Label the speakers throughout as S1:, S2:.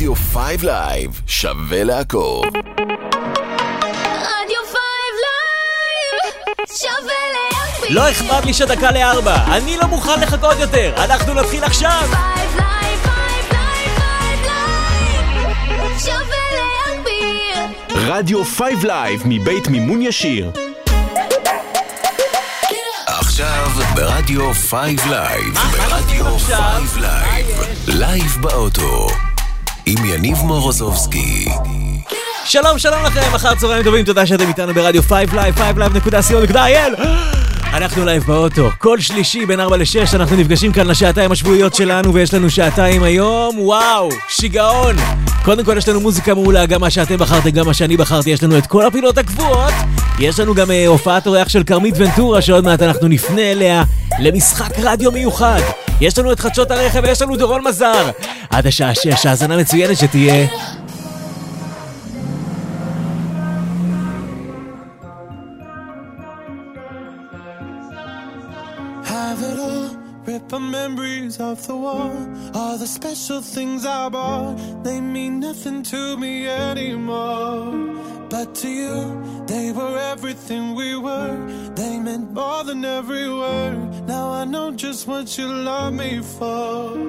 S1: רדיו 5 לייב, שווה לעקוב.
S2: רדיו 5 לייב, שווה להקפיד.
S3: לא אכפת לי שדקה ל4, אני לא מוכן לחכות יותר, אנחנו נתחיל עכשיו.
S2: 5 לייב, 5 לייב, 5 לייב, שווה להקפיד.
S1: רדיו 5 לייב מבית מימון ישיר. עכשיו ברדיו 5 לייב, ברדיו 5 לייב, לייב באוטו, עם יניב מורוזובסקי.
S3: שלום לכם, אחר צהריים טובים, תודה שאתם איתנו ברדיו 5 לייב, 5live.co.il. אנחנו לייב באוטו, כל שלישי בין 4 ל-6 אנחנו נפגשים כאן לשעתיים השבועיות שלנו, ויש לנו שעתיים היום, וואו, שיגעון. קודם כל יש לנו מוזיקה מעולה, גם מה שאתם בחרתם, גם מה שאני בחרתי, יש לנו את כל הפינות הקבועות, יש לנו גם הופעת אורח של קרמית ונטורה, שעוד מעט אנחנו נפנה אליה למשחק רדיו מיוחד. יש לנו את חדשות הרכב, ויש לנו דורון מזר. עד השעה 6, האזנה מצוינת שתהיה.
S4: Rip our memories off the wall. All the special things I bought, they mean nothing to me anymore. But to you, they were everything we were. They meant more than every word. Now I know just what you love me for.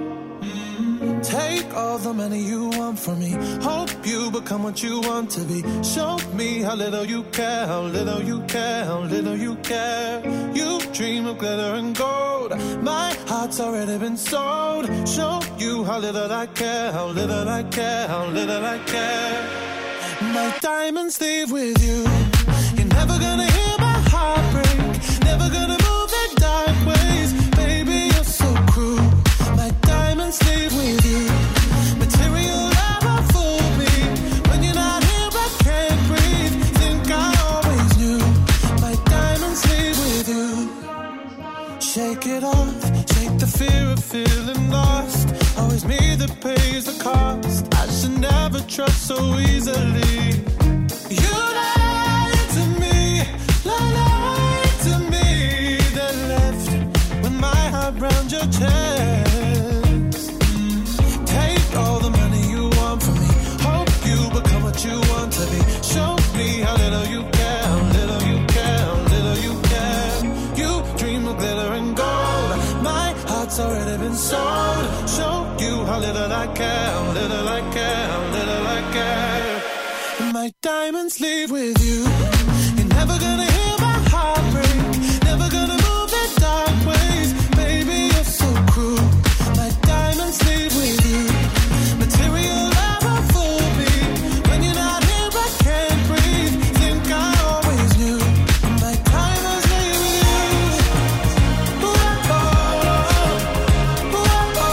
S4: Take all the money you want from me. Hope you become what you want to be. Show me how little you care, how little you care, how little you care. You dream of glitter and gold. My heart's already been sold. Show you how little I care, how little I care, how little I care. My diamonds leave with you. You're never gonna hear my heart break. Never gonna move the dark ways. Baby, you're so cruel. My diamonds leave with you. Material never fool me. When you're not here, I can't breathe. Think I always knew. My diamonds leave with you. Shake it off. Shake the fear of feeling lost. Always me that pays the cost. I should never trust so easily. You lied to me. Lied to me. Then left with my heart round your chest. Take all the money you want from me. Hope you become what you want to be. Show me how little you care, how little you care, how little you care. You dream of glitter and gold. My heart's already been sold. Show you how little I care, how little I care, how little I care. My diamonds leave with you. You're never gonna hear my heart break. Never gonna move the dark ways. Baby, you're so cruel. My diamonds leave with you. Material never fool me. When you're not here, I can't breathe. Think I always knew. My diamonds leave with you. Ooh, oh, ooh, oh,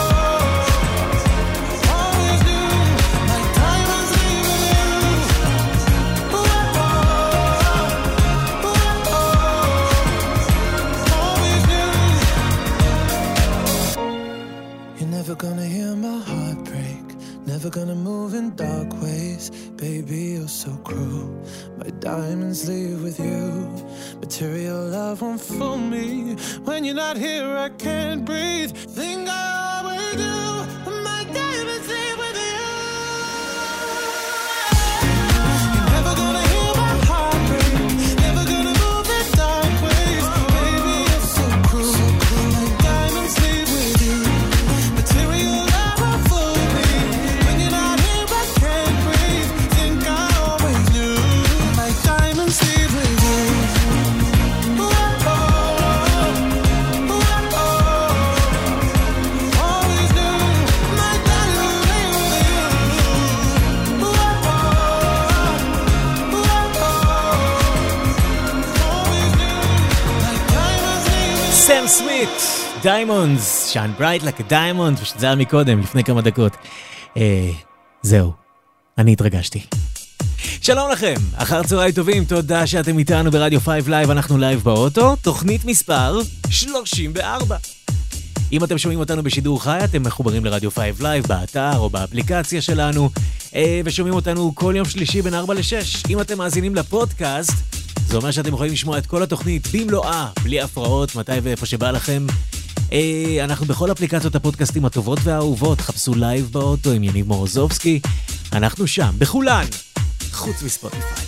S4: always knew. My diamonds leave with you. Ooh, oh, always knew. You're never gonna hear my heart break. Never gonna move in dark ways. Baby, you're so cruel. My diamonds leave with you. Material love won't fool me. When you're not here, I can't breathe. Think I always do. My diamonds leave with you. You're never gonna hear my heart break. Never gonna move in dark ways. Baby, you're so cruel. My diamonds leave with you. Material love won't fool me. When you're not here, I can't breathe. Think I always knew. My diamonds leave with you. Ooh, oh, ooh, oh, always knew. My diamonds leave with you. Ooh, oh, ooh, always knew. My diamonds leave with you.
S3: סם סמית, דיימונדס, שיין ברייט like a diamond, ושזה היה מקודם, לפני כמה דקות. זהו, אני התרגשתי. שלום לכם, אחר צהריים טובים, תודה שאתם איתנו ברדיו 5 לייב, אנחנו לייב באוטו, תוכנית מספר 34. אם אתם שומעים אותנו בשידור חי, אתם מחוברים לרדיו 5 לייב, באתר או באפליקציה שלנו, ושומעים אותנו כל יום שלישי בין 4 ל-6. אם אתם מאזינים לפודקאסט, זה אומר שאתם יכולים לשמוע את כל התוכנית במלואה, בלי הפרעות, מתי ואיפה שבא לכם. אנחנו בכל אפליקציות הפודקאסטים הטובות והאהובות, חפשו לייב באוטו עם יניב מורוזובסקי, אנחנו שם, בכולן, חוץ מספוטיפיי.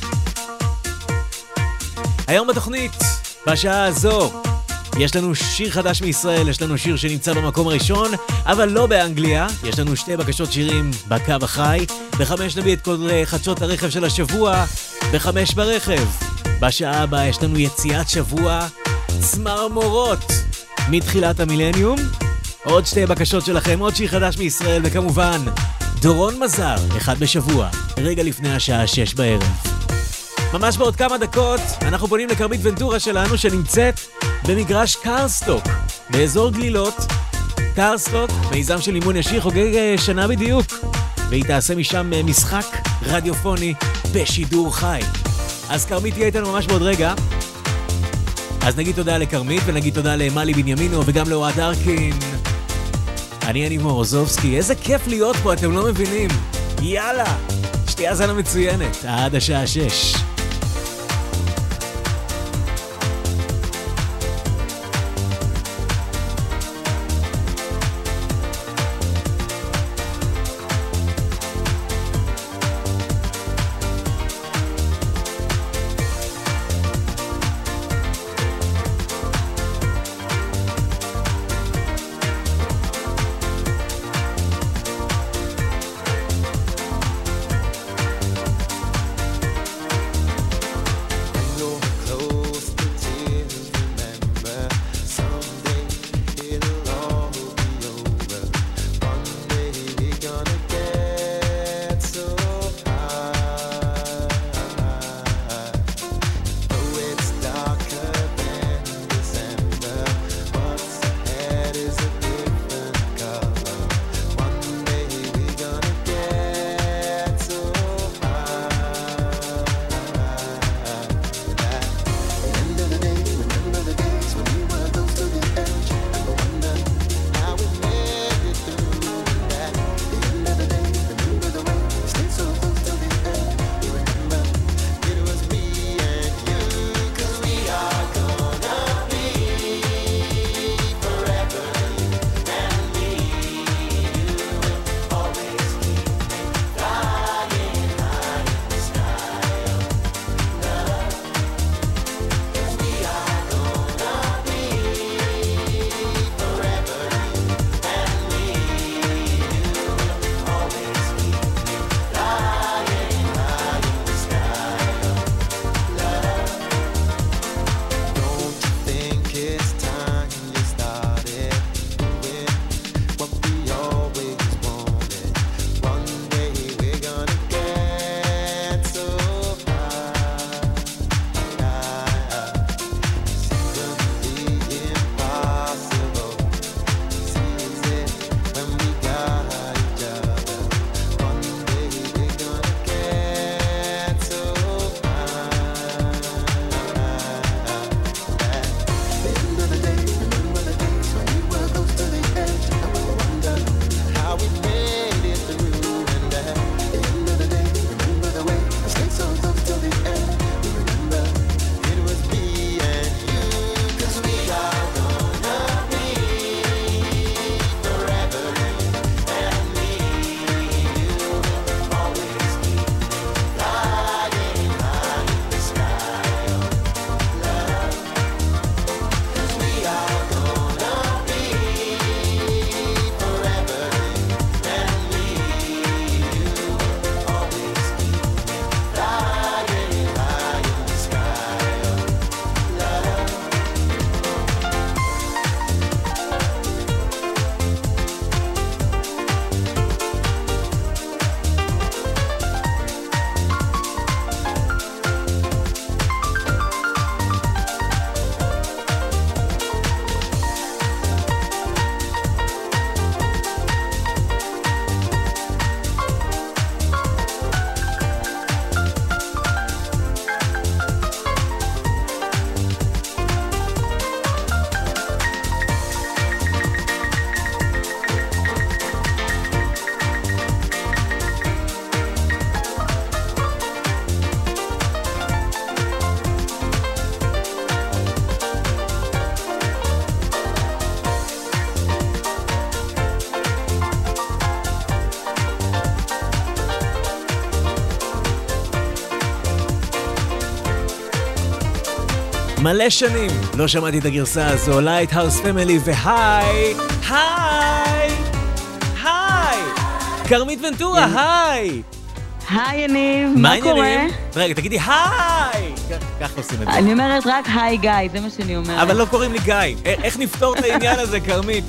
S3: היום בתוכנית, בשעה הזו, יש לנו שיר חדש מישראל, יש לנו שיר שנמצא במקום הראשון, אבל לא באנגליה. יש לנו שתי בקשות שירים בקו החי. ב5 נביא את כל חדשות הרכב של השבוע, ב5 ברכב. בשעה הבאה יש לנו יציאת שבוע, צמרמורות מתחילת המילניום. עוד שתי בקשות שלכם, עוד שיר חדש מישראל, וכמובן, דורון מזר, אחד בשבוע, רגע לפני השעה 6 בערב. ממש בעוד כמה דקות אנחנו פונים לקרמית ונטורה שלנו שנמצאת במגרש קארסטוק באזור גלילות. קארסטוק, מיזם של אימון ישיר, חוגג שנה בדיוק, והיא תעשה משם משחק רדיופוני בשידור חי. אז קרמית תהיה איתנו ממש בעוד רגע. אז נגיד תודה לקרמית ונגיד תודה למלי בנימינו וגם לאוהד ארקין. אני יניב מורוזובסקי, איזה כיף להיות פה, אתם לא מבינים. יאללה, שתהיה האזנה מצוינת עד השעה 6. מלא שנים לא שמעתי את הגרסה הזו, לייטהאוס פמילי והי, היי, היי, קרמית ונטורה, היי.
S5: היי יניב, מה קורה?
S3: רגע, תגידי היי! כך עושים את זה.
S5: אני אומרת רק היי גיא, זה מה שאני אומרת.
S3: אבל לא קוראים לי גיא. איך נפתור את העניין הזה, קרמית?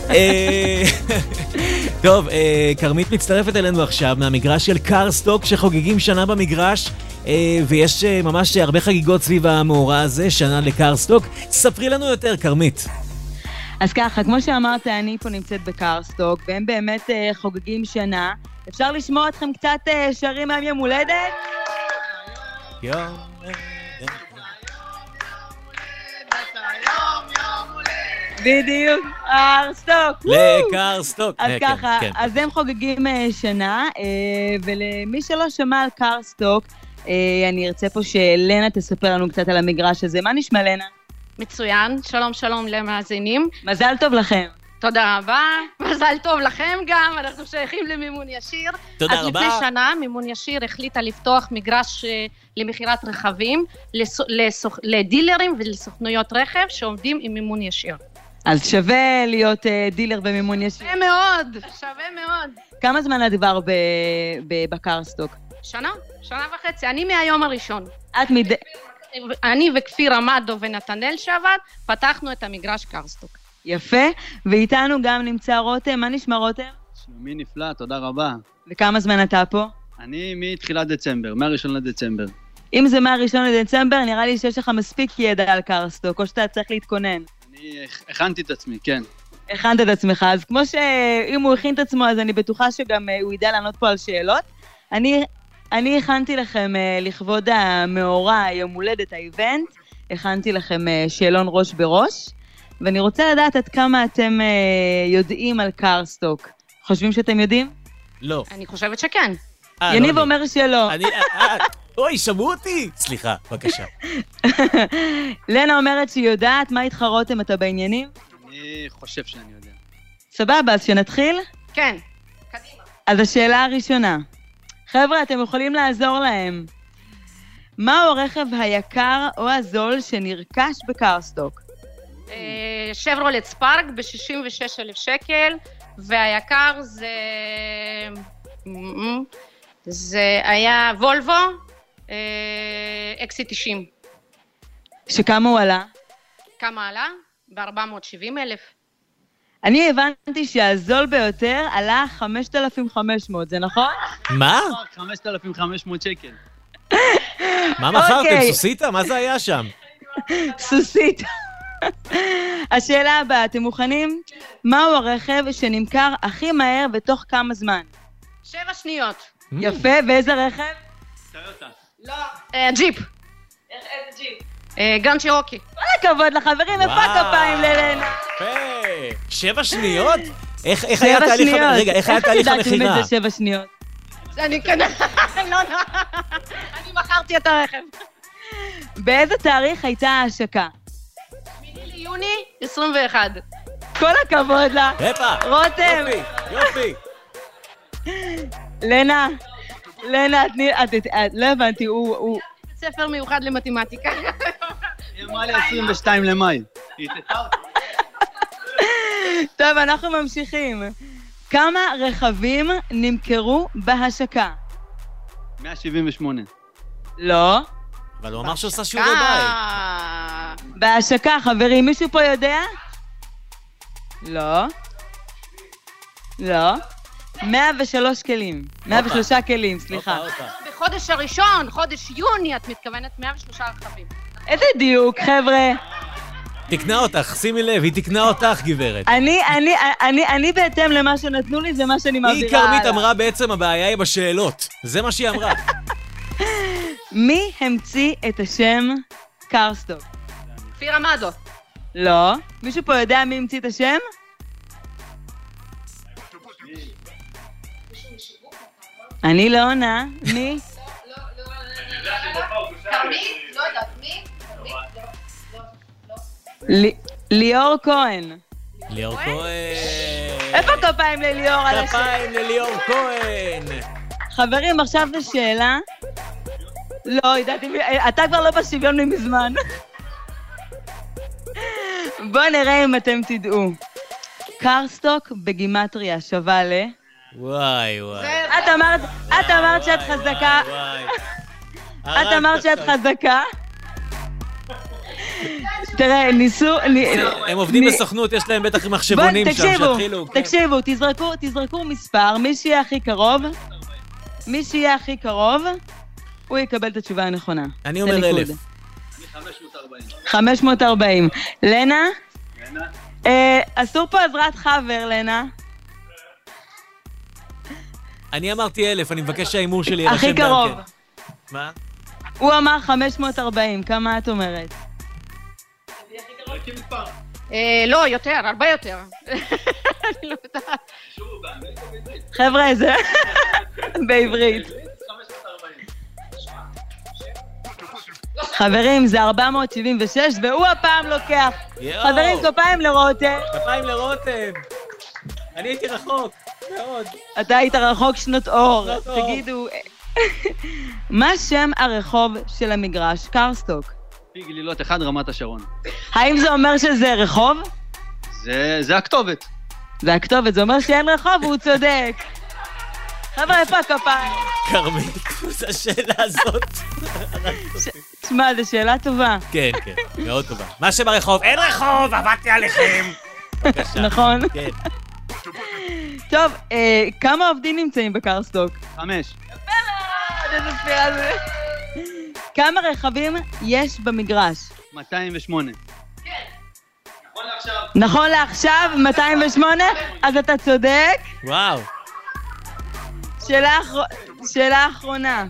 S3: טוב, קרמית מצטרפת אלינו עכשיו מהמגרש של קארסטוק, שחוגגים שנה במגרש, ויש ממש הרבה חגיגות סביב המאורע הזה, שנה לקארסטוק. ספרי לנו יותר, קרמית.
S5: אז ככה, כמו שאמרת, אני פה נמצאת בקארסטוק, והם באמת חוגגים שנה. אפשר לשמוע אתכם קצת שרים מהם יום הולדת?
S3: יום
S5: בדיוק, קארסטוק.
S3: לקארסטוק.
S5: אז ככה, אז הם חוגגים שנה, ולמי שלא שמע על קארסטוק, אני ארצה פה שלנה תספר לנו קצת על המגרש הזה. מה נשמע, לנה?
S6: מצוין, שלום שלום למאזינים.
S5: מזל טוב לכם.
S6: תודה רבה, מזל טוב לכם גם, אנחנו שייכים למימון ישיר.
S3: תודה רבה.
S6: אז לפני שנה מימון ישיר החליטה לפתוח מגרש למכירת רכבים לדילרים ולסוכנויות רכב שעומדים עם מימון ישיר.
S5: אז שווה להיות דילר במימון ישיר.
S6: שווה מאוד, שווה מאוד.
S5: כמה זמן את כבר בקארסטוק?
S6: שנה וחצי, אני מהיום הראשון. אני וכפיר עמדו ונתנאל שעבד, פתחנו את המגרש קארסטוק.
S5: יפה, ואיתנו גם נמצא רותם. מה נשמע רותם?
S7: שלומי נפלא, תודה רבה.
S5: וכמה זמן אתה פה?
S7: אני מתחילת דצמבר, מהראשון לדצמבר.
S5: אם זה מהראשון לדצמבר, נראה לי שיש לך מספיק ידע על קארסטוק, או שאתה צריך להתכונן.
S7: אני הכנתי את עצמי, כן.
S5: הכנת את עצמך, אז כמו שאם הוא הכין את עצמו, אז אני בטוחה שגם הוא ידע לענות פה על שאלות. אני הכנתי לכם לכבוד המאורע, יום הולדת, האיבנט, הכנתי לכם שאלון ראש בראש, ואני רוצה לדעת עד כמה אתם יודעים על קארסטוק. חושבים שאתם יודעים?
S3: לא.
S6: אני חושבת שכן.
S5: יניב אומר שלא.
S3: אוי, שמעו אותי! סליחה, בבקשה.
S5: לנה אומרת שהיא יודעת. מה התחרותם? אתה בעניינים?
S7: אני חושב שאני יודע.
S5: סבבה, אז שנתחיל?
S6: כן. קדימה.
S5: אז השאלה הראשונה. חבר'ה, אתם יכולים לעזור להם. מהו הרכב היקר או הזול שנרכש בקארסטוק?
S6: שברולט ספארק ב-66,000 שקל, והיקר זה היה וולבו XC90.
S5: שכמה הוא עלה?
S6: כמה עלה? ב-470,000.
S5: אני הבנתי שהזול ביותר עלה 5,500, זה נכון?
S3: מה?
S7: 5,500 שקל.
S3: מה מכרתם? סוסיטה? מה זה היה שם?
S5: סוסיטה. השאלה הבאה, אתם מוכנים? מהו הרכב שנמכר הכי מהר בתוך כמה זמן?
S6: 7 שניות.
S5: יפה, ואיזה רכב?
S7: טויוטה.
S6: לא. ג'יפ. איזה ג'יפ? גן צ'ירוקי.
S5: כל הכבוד לחברים, איפה כפיים ללנה?
S3: יפה. 7 שניות? איך היה תהליך המכירה? רגע, איך היה תהליך המכירה?
S5: איך ידעתם את זה 7 שניות?
S6: אני מכרתי את הרכב.
S5: באיזה תאריך הייתה ההשקה?
S6: 8 ליוני 21.
S5: כל הכבוד לה. רותם.
S3: יופי.
S5: לנה, את לא הבנתי, הוא...
S6: ספר מיוחד למתמטיקה.
S7: היא אמרה לי 22 למאי.
S5: טוב, אנחנו ממשיכים. כמה רכבים נמכרו בהשקה?
S7: 178.
S5: לא.
S3: אבל הוא אמר שעושה שיעורי בית.
S5: בהשקה, חברים, מישהו פה יודע? לא. 103 כלים. 103 כלים, סליחה.
S6: בחודש הראשון, חודש יוני, את מתכוונת 103 רכבים.
S5: איזה דיוק, חבר'ה.
S3: תקנה אותך, שימי לב, היא תקנה אותך, גברת.
S5: אני בהתאם למה שנתנו לי, זה מה שאני מעבירה
S3: היא קרמית אמרה בעצם הבעיה היא בשאלות. זה מה שהיא אמרה.
S5: מי המציא את השם קארסטוק?
S6: כפיר עמדו.
S5: לא. מישהו פה יודע מי המציא את השם? אני לא עונה. מי?
S6: לא יודעת, מי?
S5: ליאור כהן.
S3: ליאור כהן.
S5: איפה כפיים לליאור על השם?
S3: כפיים לליאור כהן.
S5: חברים, עכשיו זו שאלה. לא, ידעתי, אתה כבר לא בשוויון מזמן. בואו נראה אם אתם תדעו. קרסטוק בגימטריה שווה ל...
S3: וואי וואי.
S5: את אמרת שאת חזקה. את אמרת שאת חזקה. תראה, ניסו...
S3: הם עובדים בסוכנות, יש להם בטח מחשבונים שם שהתחילו.
S5: תקשיבו, תזרקו מספר, מי שיהיה הכי קרוב, הוא יקבל את התשובה הנכונה.
S3: אני אומר 1,000.
S7: אני 540.
S5: 540. לנה? אסור פה עזרת חבר, לנה.
S3: אני אמרתי 1,000, אני מבקש שהאימור שלי יירשם
S5: הכי
S3: גם
S5: קרוב.
S3: כן. מה?
S5: הוא אמר 540, כמה את אומרת?
S6: לא, יותר, הרבה יותר. אני לא יודעת.
S5: חבר'ה, זה בעברית. חברים, זה 476, והוא הפעם לוקח. חברים, כפיים לרותם.
S3: כפיים לרותם. אני הייתי רחוק, מאוד.
S5: אתה היית רחוק שנות אור. תגידו, מה שם הרחוב של המגרש קרסטוק?
S7: פי גלילות 1, רמת השרון.
S5: האם זה אומר שזה רחוב?
S7: זה הכתובת.
S5: זה הכתובת, זה אומר שאין רחוב והוא צודק. חבר'ה, איפה הכפיים?
S3: כרמית, זו השאלה הזאת.
S5: תשמע, זו שאלה טובה.
S3: כן, כן, מאוד טובה. מה שם הרחוב? אין רחוב, עבדתי עליכם. בבקשה.
S5: נכון.
S3: כן.
S5: טוב, כמה עובדים נמצאים בקרסטוק?
S7: 5.
S5: איזה ספירה זה. כמה רכבים יש במגרש?
S7: 208.
S5: נכון לעכשיו, 208? אז אתה צודק.
S3: וואו.
S5: שאלה אחרונה.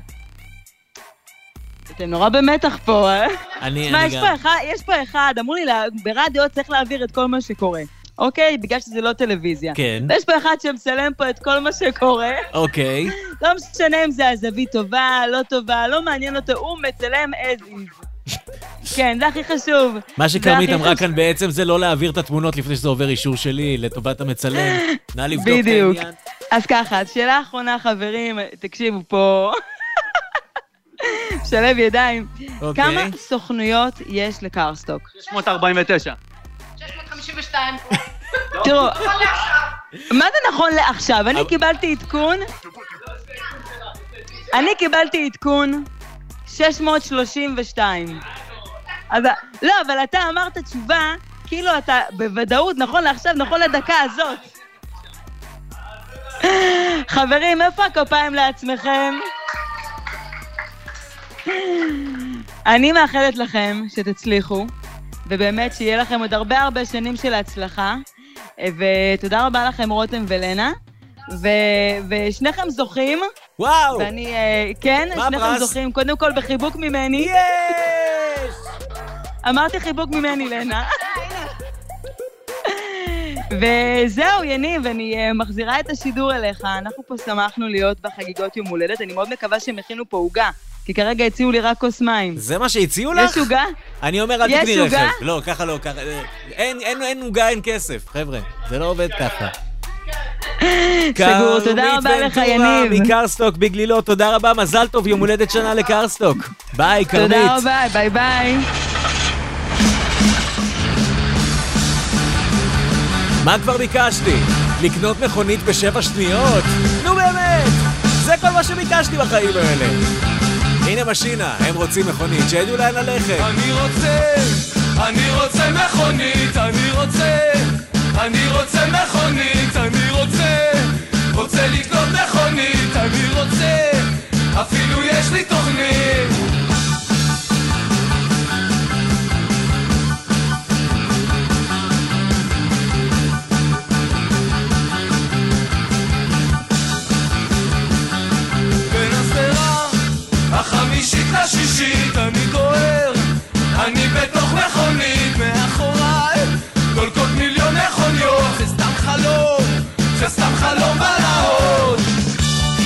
S5: אתם נורא במתח פה, אה?
S3: אני
S5: יש פה אחד, אמרו לי, ברדיו צריך להעביר את כל מה שקורה. אוקיי? בגלל שזה לא טלוויזיה.
S3: כן.
S5: ויש פה אחד שמצלם פה את כל מה שקורה.
S3: אוקיי.
S5: לא משנה אם זה הזווית טובה, לא טובה, לא מעניין אותו, הוא מצלם as is. כן, זה הכי חשוב.
S3: מה שכרמית אמרה כאן בעצם זה לא להעביר את התמונות לפני שזה עובר אישור שלי לטובת המצלם. נא לבדוק את העניין.
S5: בדיוק. אז ככה, שאלה אחרונה, חברים, תקשיבו פה. שלב ידיים. כמה סוכנויות יש לקרסטוק?
S7: 649.
S6: 652.
S5: תראו, מה זה נכון לעכשיו? אני קיבלתי עדכון 632. לא, אבל אתה אמרת תשובה, כאילו אתה בוודאות, נכון לעכשיו, נכון לדקה הזאת. חברים, איפה הכפיים לעצמכם? אני מאחלת לכם שתצליחו, ובאמת שיהיה לכם עוד הרבה שנים של הצלחה, ותודה רבה לכם רותם ולנה, ושניכם זוכים.
S3: וואו!
S5: ואני, כן, שניכם זוכים, קודם כל בחיבוק ממני.
S3: יש!
S5: אמרתי חיבוק ממני, לנה. וזהו, יניב, אני מחזירה את השידור אליך. אנחנו פה שמחנו להיות בחגיגות יום הולדת. אני מאוד מקווה שהם הכינו פה עוגה, כי כרגע הציעו לי רק כוס מים.
S3: זה מה שהציעו לך?
S5: יש עוגה?
S3: אני אומר, אל תקני רכב.
S5: יש עוגה?
S3: לא, ככה לא, ככה. אין עוגה, אין כסף, חבר'ה. זה לא עובד ככה.
S5: סגור, תודה רבה לך, יניב.
S3: מקרסטוק בגלילות, תודה רבה, מזל טוב, יום הולדת שנה לקרסטוק. ביי, כרמית.
S5: תודה רבה, ביי ביי.
S3: מה כבר ביקשתי? לקנות מכונית ב7 שניות? נו באמת! זה כל מה שביקשתי בחיים האלה. הנה משינה, הם רוצים מכונית, שידעו לאן ללכת.
S4: אני רוצה מכונית, אני רוצה מכונית, רוצה לקנות מכונית, אפילו יש לי תוכנית. בין הסדרה החמישית לשישית אני דוהר, אני בתוך מכונית, מאחוריי דולקות מיליון מכוניות. זה סתם חלום בלהות,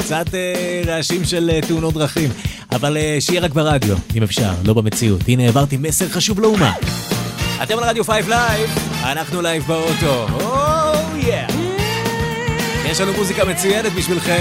S3: קצת רעשים של תאונות דרכים, אבל שיהיה רק ברדיו, אם אפשר, לא במציאות. הנה, העברתי מסר חשוב לאומה. אתם על רדיו 5 לייב, אנחנו לייב באוטו. יש לנו מוזיקה מצוינת בשבילכם.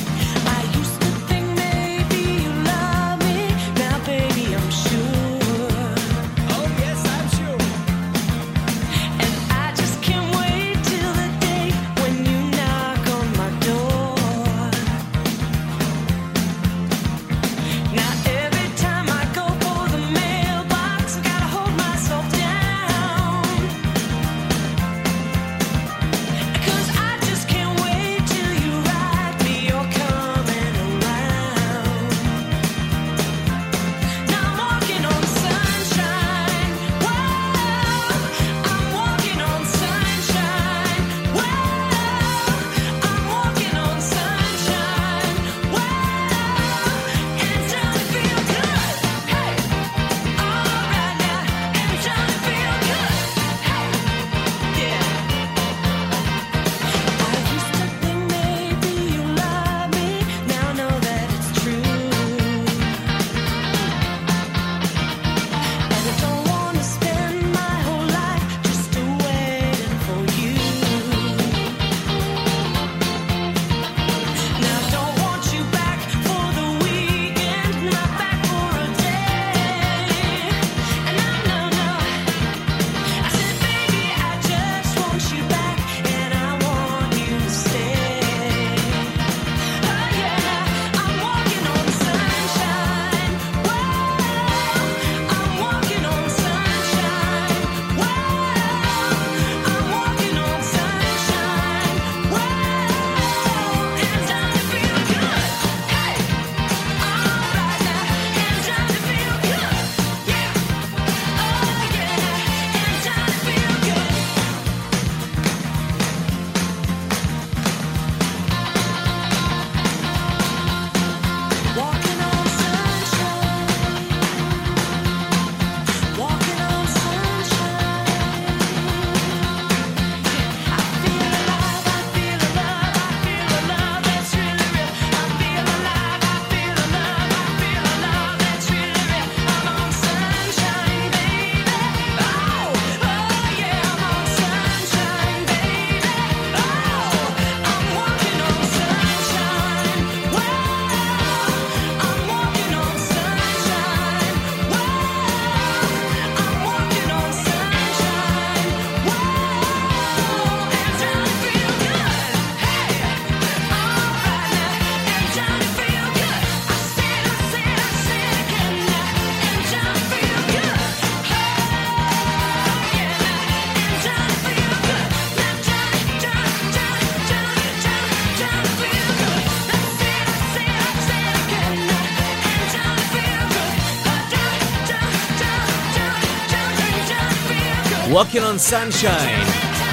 S3: Walking on Sunshine,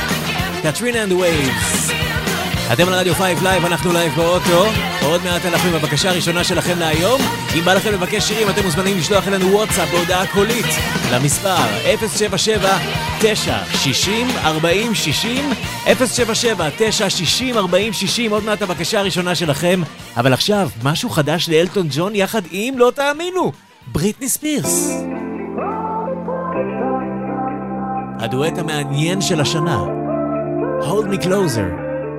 S3: Katrina and the Waves. אתם על רדיו 5 לייב, אנחנו לייב באוטו. עוד מעט אנחנו עם הבקשה הראשונה שלכם להיום. אם בא לכם לבקש שירים, אתם מוזמנים לשלוח אלינו וואטסאפ בהודעה קולית למספר 077-960-4060, 077-960-4060. עוד מעט הבקשה הראשונה שלכם. אבל עכשיו, משהו חדש לאלטון ג'ון יחד עם, לא תאמינו, בריטני ספירס. הדואט המעניין של השנה, Hold Me Closer.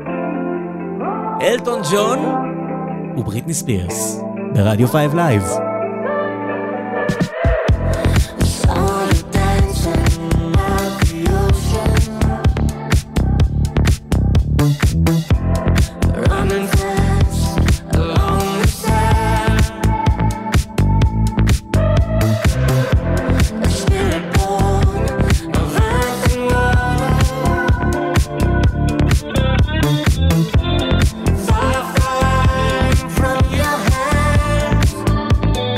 S3: אלטון ג'ון ובריטני ספירס ברדיו 5 לייב.
S2: From your hands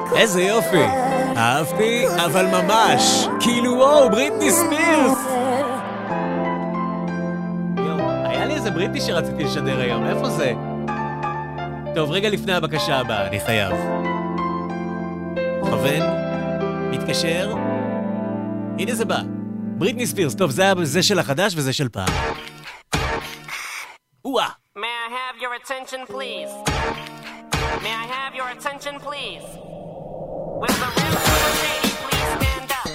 S3: איזה יופי. אהבתי, אבל ממש. כאילו וואו, בריטני ספירס. היה לי איזה בריטני שרציתי לשדר היום, איפה זה? טוב, רגע לפני הבקשה הבאה, אני חייב. מכוון, מתקשר. הנה זה בא. בריטני ספירס, טוב, זה של החדש וזה של פעם. וואה.
S8: May I have your attention, please? May I have your attention, please? Will the real Slim Shady please stand up?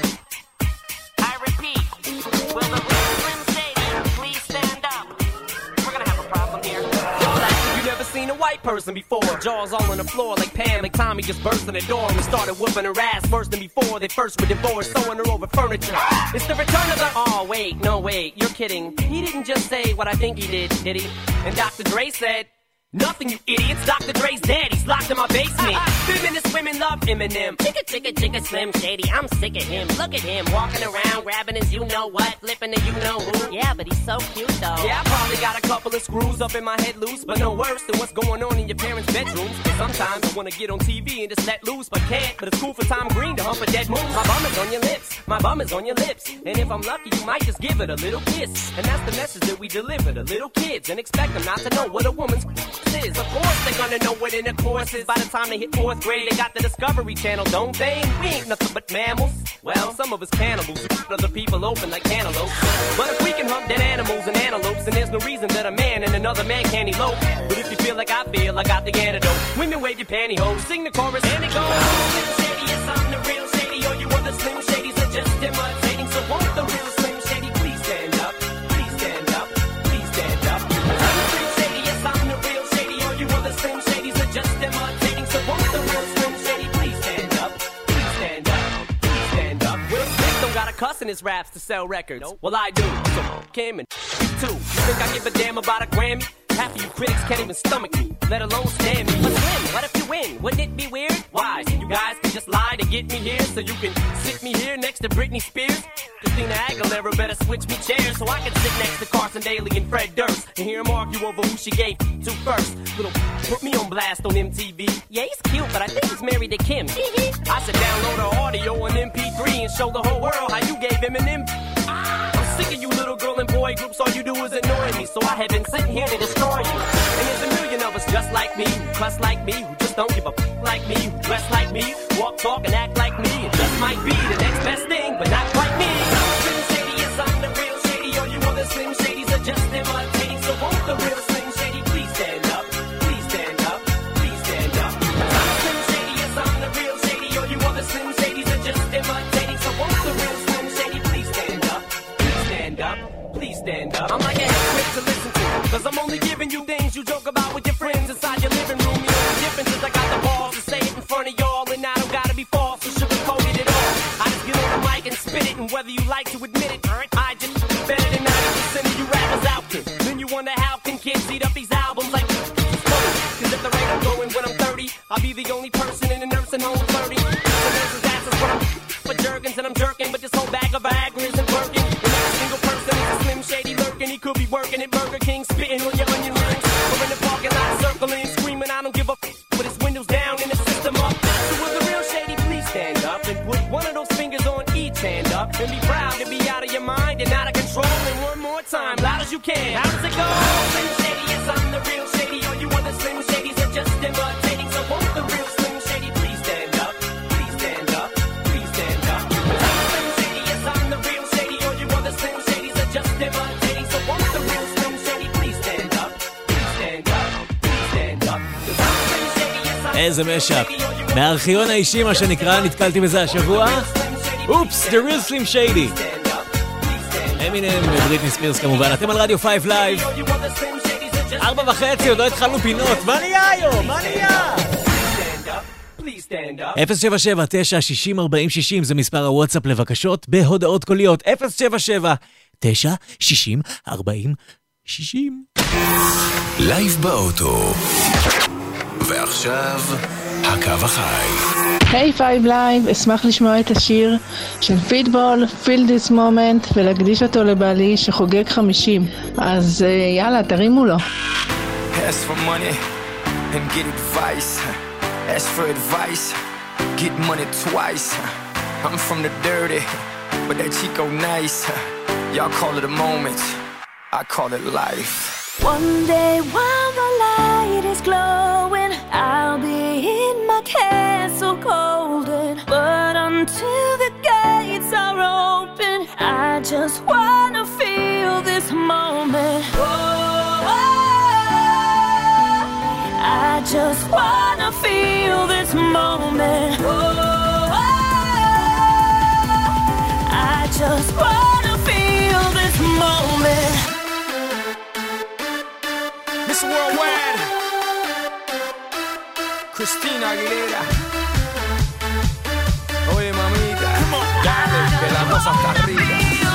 S8: I repeat, will the real Slim Shady please stand up? We're gonna have a problem here.
S9: You never seen a white person before. Jaws all on the floor like Pam, like Tommy just burst in the door and started whooping her ass worse than before. They first were divorced, sewing her over furniture. It's the return of the... Oh, wait, no, wait, you're kidding. He didn't just say what I think he did he? And Dr. Dre said... Nothing, you idiots. Dr. Dre's dead. He's locked in my basement. Feminist women love Eminem. Chicka, chicka, chicka, Slim Shady. I'm sick of him. Look at him walking around, grabbing his you-know-what, flipping the you-know-who. Yeah, but he's so cute, though. Yeah, I probably got a couple of screws up in my head loose, but no worse than what's going on in your parents' bedrooms. Sometimes I want to get on TV and just let loose, but can't. But it's cool for Tom Green to hump a dead moose. My bum is on your lips. My bum is on your lips. And if I'm lucky, you might just give it a little kiss. And that's the message that we deliver to little kids and expect them not to know what a woman's is. Of course they're gonna know what intercourse is. By the time they hit 4th grade, they got the Discovery Channel, don't they? We ain't nothing but mammals. Well, some of us cannibals, other people open like cantaloupes. But if we can hunt dead animals and antelopes, then there's no reason that a man and another man can't elope. But if you feel like I feel, I got the antidote. Women wave your pantyhose, sing the chorus, and it goes. Slim Shady, yes, I'm the real Shady. All you other Slim Shadys are just imitating. So won't the real Slim Shady please stand up? Please stand up. Please stand up. I'm the Slim Shady, yes, I'm the real Shady. All you other Slim Shadys are just imitating. So won't the real Slim Shady please stand up? Please stand up. Please stand up. Will Smith don't got a cuss in his raps to sell records. Nope. Well, I do. So him and too. You think I give a damn about a Grammy? Half of you critics can't even stomach me, let alone stand me. But Slim, what if you win? Wouldn't it be weird? Why? So you guys can just lie to get me here, so you can sit me here next to Britney Spears? Christina Aguilera better switch me chairs so I can sit next to Carson Daly and Fred Durst and hear them argue over who she gave to first. Little put me on blast on MTV. Yeah, he's cute, but I think he's married to Kim. I should download her audio on MP3 and show the whole world how you gave him an M. I'm sick of you little girl and boy groups, all you do is annoy me, so I have been sitting here to destroy you. And there's a million of us just like me, who cuss like me, who just don't give a like me, who dress like me, walk, talk, and act like me. It just might be the next best thing, but not quite me. Slim Shady, yes, I'm the real Shady. All you other Slim Shadys are just imitating, so won't the real Slim Shady please stand up? Please stand up. Please stand up. I'm Slim Shady, yes, I'm the real Shady. All you other Slim Shadys are just imitating, so won't the real Slim Shady please stand up? Please stand up. Please stand up. I'm like a hypocrite to listen to, cause I'm only giving you things you joke about with your friends inside your living room. The only difference is I got the balls to say it in front of y'all, and I don't gotta be false or sugarcoated at all. I just get on the mic and spit it, and whether you like to admit it, I just better than 90% of you rappers out there. Then you wonder how can kids eat up these albums like it's funny, cause at the rate I'm going when I'm 30, I'll be the only person in a nursing home flirty. The nurse's ass is when I'm for Jergens and I'm jerking, but this whole bag of Viagra isn't working. Slim Shady lurking, he could be working at Burger King, spitting on your onion rings, or in the parking lot circling, screaming, I don't give a with his windows down and the system up. So will the real Shady please stand up and put one of those fingers on each hand up and be proud to be out of your mind and out of control. And one more time, loud as you can. How does it go? Slim Shady, yes, I'm the real Shady. All you other Slim Shadys are just imitating. So won't the real Slim Shady please stand up? Please stand up. Please stand up. I'm Slim Shady, yes, I'm the real Shady. All you other Slim Shadys are just imitating. So won't the real Slim Shady please stand up? Please stand up. Please stand up.
S3: איזה משאפ. מהארכיון האישי, מה שנקרא, נתקלתי בזה השבוע. אופס, The Real Slim Shady. אמינם ובריטני ספירס כמובן. אתם על רדיו 5 Live. 4:30, עוד לא התחלנו פינות. מה נהיה היום? מה נהיה? 077-960-4060 זה מספר הוואטסאפ לבקשות בהודעות קוליות. 077-960-4060.
S1: לייב באוטו. ועכשיו, הקו החי.
S10: היי פייב לייב, אשמח לשמוע את השיר של פיטבול, Feel This Moment, ולהקדיש אותו לבעלי שחוגג 50. אז יאללה, תרימו לו.
S11: Ask for money and get advice. Ask for advice get money twice. I'm from the dirty, but that Chico nice. Y'all call it a moment, I call it life.
S2: One day while the light is glowing, I'll be in my castle golden. But until the gates are open, I just wanna feel this moment. Oh, I just wanna feel this moment. Oh, I just wanna feel this moment.
S11: Miss Worldwide, Christina Aguilera. Oye mamita, dale que la cosa está arriba.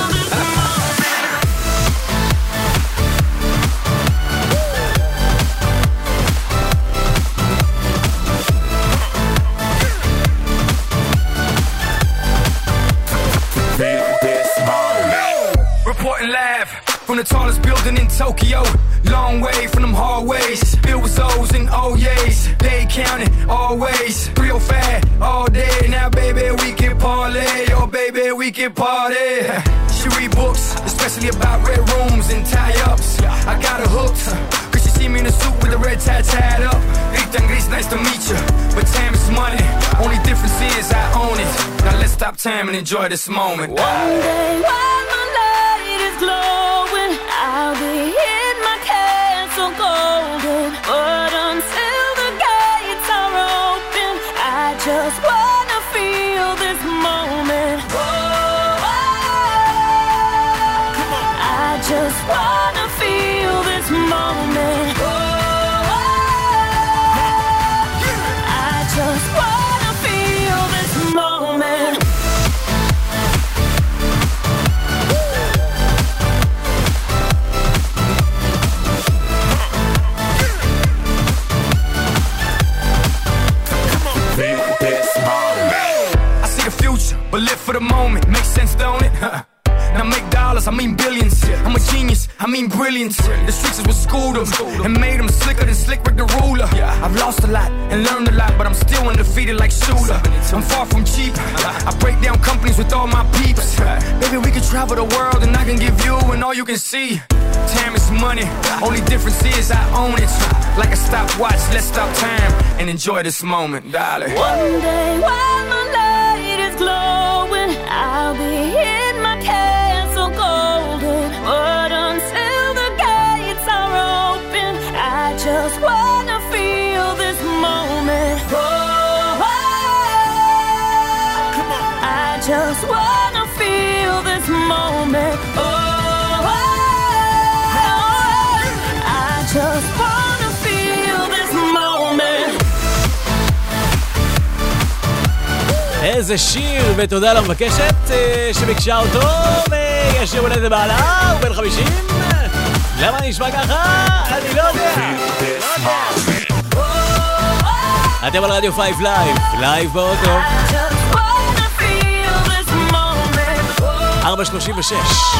S11: Reporting live from the tallest building in Tokyo. Long way from them hallways, filled with O's and O's. They counting always, 305 all day. Now baby we can parlay, oh baby we can party. She read books, especially about red rooms and tie-ups. I got her hooked, cause she see me in a suit with the red tie tied up. Rita Gris, nice to meet you, but time is money. Only difference is I own it. Now let's stop time and enjoy this moment.
S2: One day while my light is glowing, I'll be in my castle golden. But until the gates are open, I just wanna feel this moment. Oh, I just wanna feel this moment. Oh, I just wanna feel this moment.
S11: I see the future, but live for the moment. Makes sense, don't it? Now make dollars, I mean billions. I'm a genius, I mean brilliance. The streets is what schooled them and made them slicker than Slick Rick the ruler. I've lost a lot and learned a lot, but I'm still undefeated like Shooter. I'm far from cheap, I break down companies with all my peeps. Baby, we can travel the world and I can give you and all you can see. Time is money, only difference is I own it. Like a stopwatch, let's stop time and enjoy this moment, darling.
S2: One day while my light is glowing, I'll be in my castle golden. But until the gates are open, I just wanna feel this moment. Oh, I just wanna feel this moment. Oh, I just wanna feel this moment.
S3: איזה שיר, ותודה למבקשת שביקשה אותו, ויש יום הולדת בעלה, הוא בן 50. למה נשמע ככה? אני לא יודע. אתם על רדיו 5 לייב, לייב באוטו. 4:36.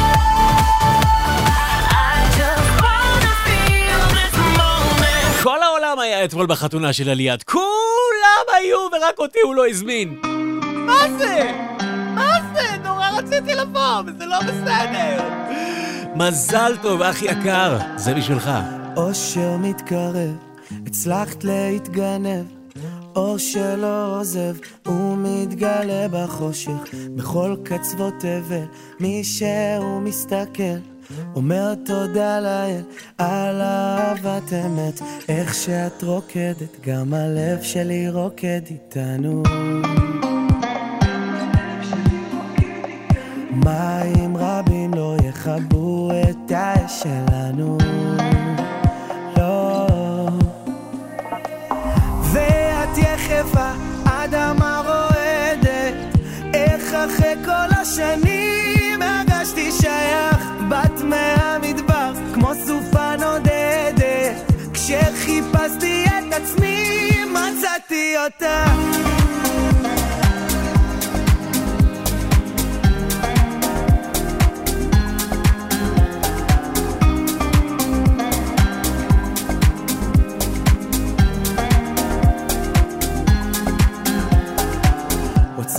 S3: כל העולם היה אתמול בחתונה של עליית, כולם היו ורק אותי הוא לא הזמין. מה זה? מה זה? נורא רציתי לבוא, וזה לא בסדר. מזל טוב, אח יקר, זה בשבילך.
S12: אושר מתקרב, הצלחת להתגנב, אור שלא עוזב, הוא מתגלה בחושך, בכל קצוות תבל, מי שהוא מסתכל, אומר תודה לאל על אהבת אמת, איך שאת רוקדת, גם הלב שלי רוקד איתנו. מים רבים לא יכבו את האש שלנו, לא. ואת יחפה, אדמה רועדת, איך אחרי כל השנים הרגשתי שייך, בת מהמדבר כמו סופה נודדת, כשחיפשתי את עצמי מצאתי אותה.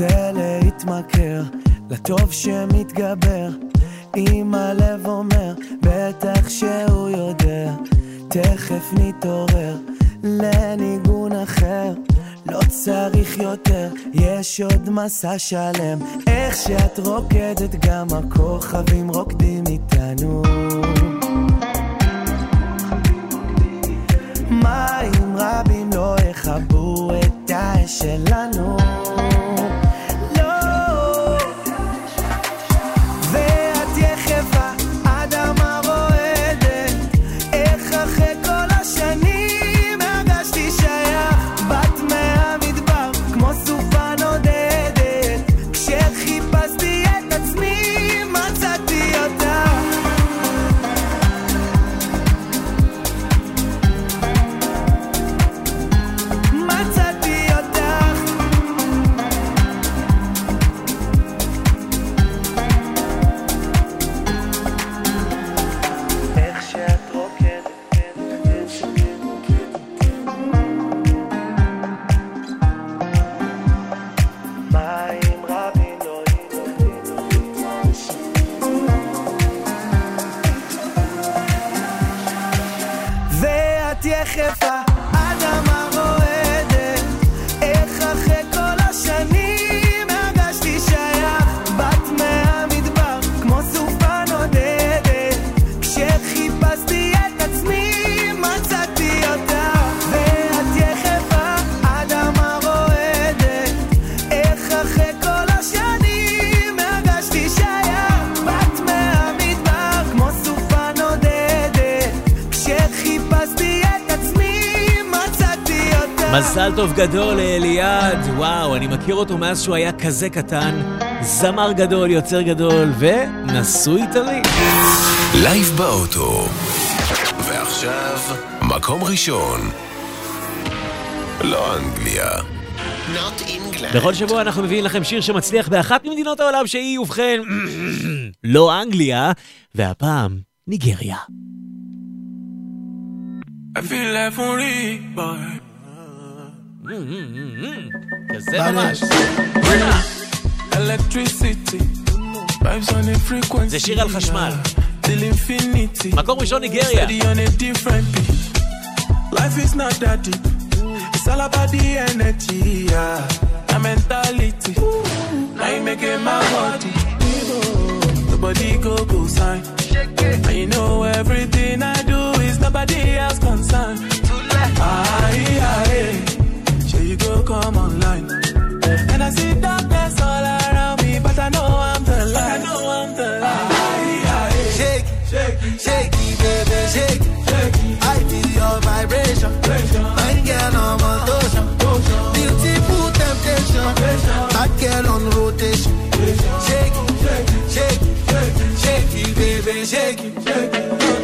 S12: רוצה להתמכר לטוב שמתגבר, אם הלב אומר בטח שהוא יודע, תכף נתעורר לניגון אחר, לא צריך יותר, יש עוד מסע שלם, איך שאת רוקדת גם הכוכבים רוקדים איתנו, מים רבים לא יכבו את האש שלנו,
S3: מזל טוב גדול לאליעד, וואו, אני מכיר אותו מאז שהוא היה כזה קטן, זמר גדול, יוצר גדול, ונשוי טרי.
S1: לייב באוטו. ועכשיו, מקום ראשון. לא אנגליה. Not England.
S3: בכל שבוע אנחנו מביאים לכם שיר שמצליח באחת ממדינות העולם שהיא, ובכן, לא אנגליה, והפעם ניגריה.
S13: I feel like for it, boy.
S3: כזה ממש. זה שיר על חשמל. מקום ראשון ניגריה.
S13: Life is not that deep. It's all about the energy, the mentality. Now you make it my body. The body go sign. And you know everything I do is nobody else concerned. You go come online, and I see darkness all around me, but I know I'm the light.
S14: Shake, shake, shake, baby, shake, shake. I feel your vibration. My girl on motion, beautiful temptation. That girl on rotation. Shake, shake, shake, shake, baby, shake, shake.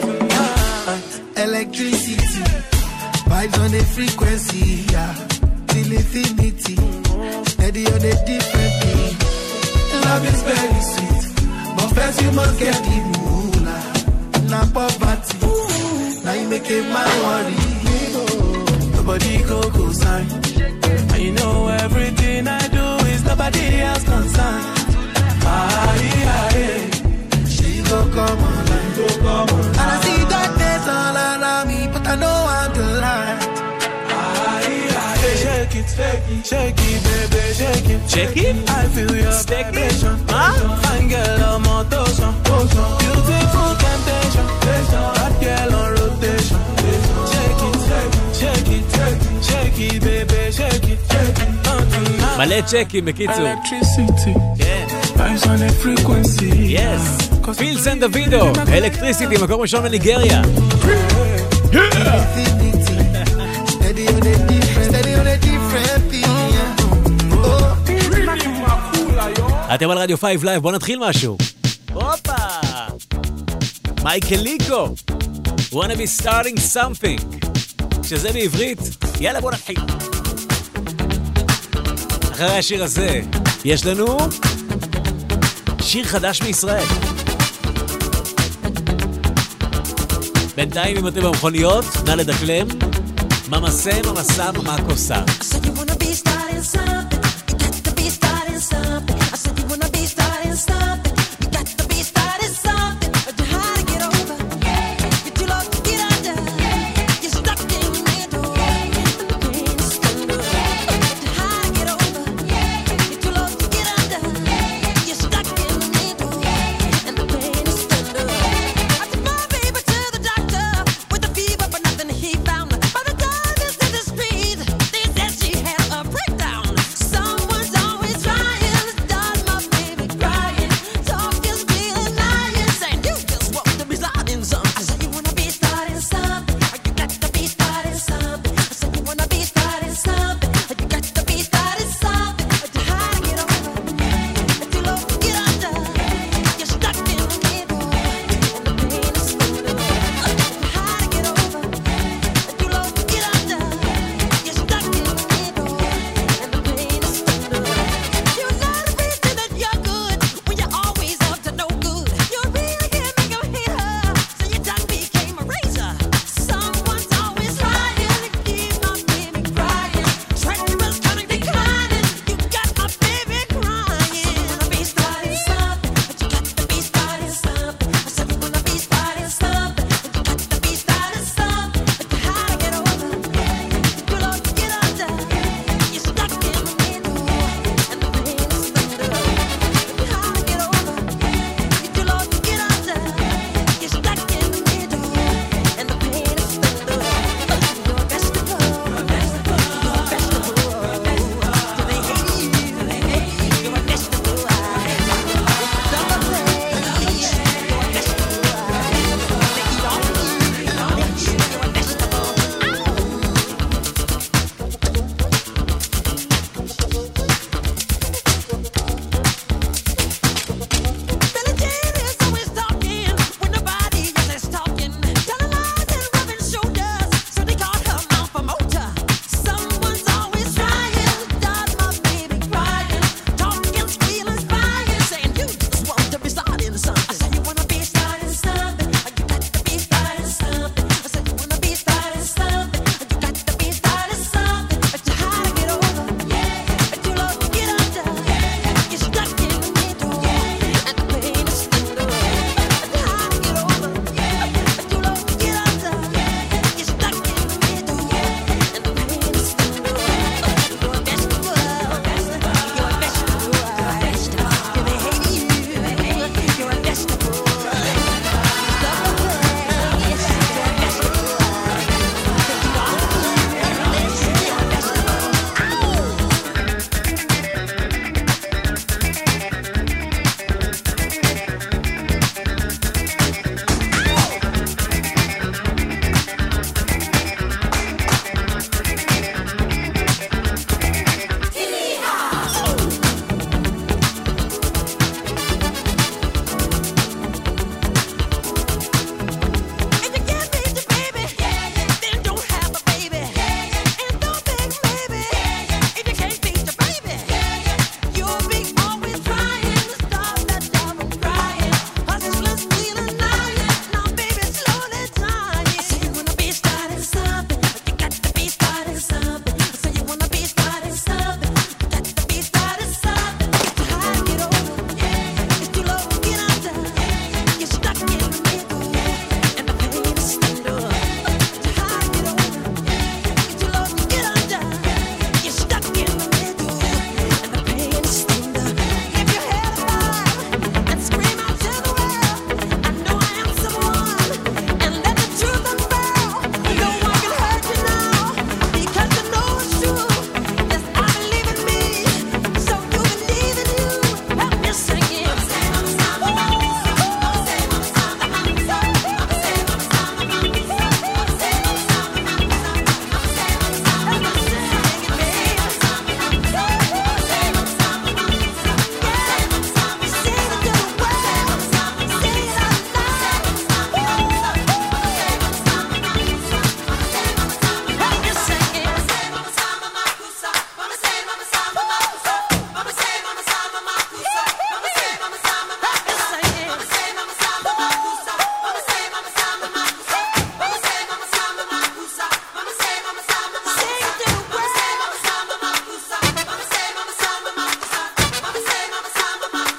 S14: Electricity, vibes on the frequency, yeah. Infinity, steady on a different beat. Love is very sweet, but first you must get the moolah. Now poverty, now you make it my worry.
S13: Nobody go sign, and you know everything I do is nobody else concerned.
S14: She go come online, and I see darkness all around me, but I know I'm the light.
S13: Shake it, baby, shake it.
S3: Shake it?
S13: I feel your vibration. Fine girl on motion. Beautiful temptation. That girl on rotation. Shake it, shake it, shake it, baby, shake it.
S3: מלא צ'קים בקיצור.
S13: Electricity. Vibes on a frequency.
S3: Yes. פיל סן דוידו, אלקטריסיטי, מקום ראשון בניגריה. אתם על רדיו 5 לייב, בואו נתחיל משהו. הופה! מייקל ליקו, wanna be starting something, שזה בעברית, יאללה בואו נתחיל. אחרי השיר הזה, יש לנו שיר חדש מישראל. בינתיים אם אתם במכוניות, נא לדקלם, ממסה, ממסה, ממקוסה.
S2: So you wanna be starting something, you got to be starting something.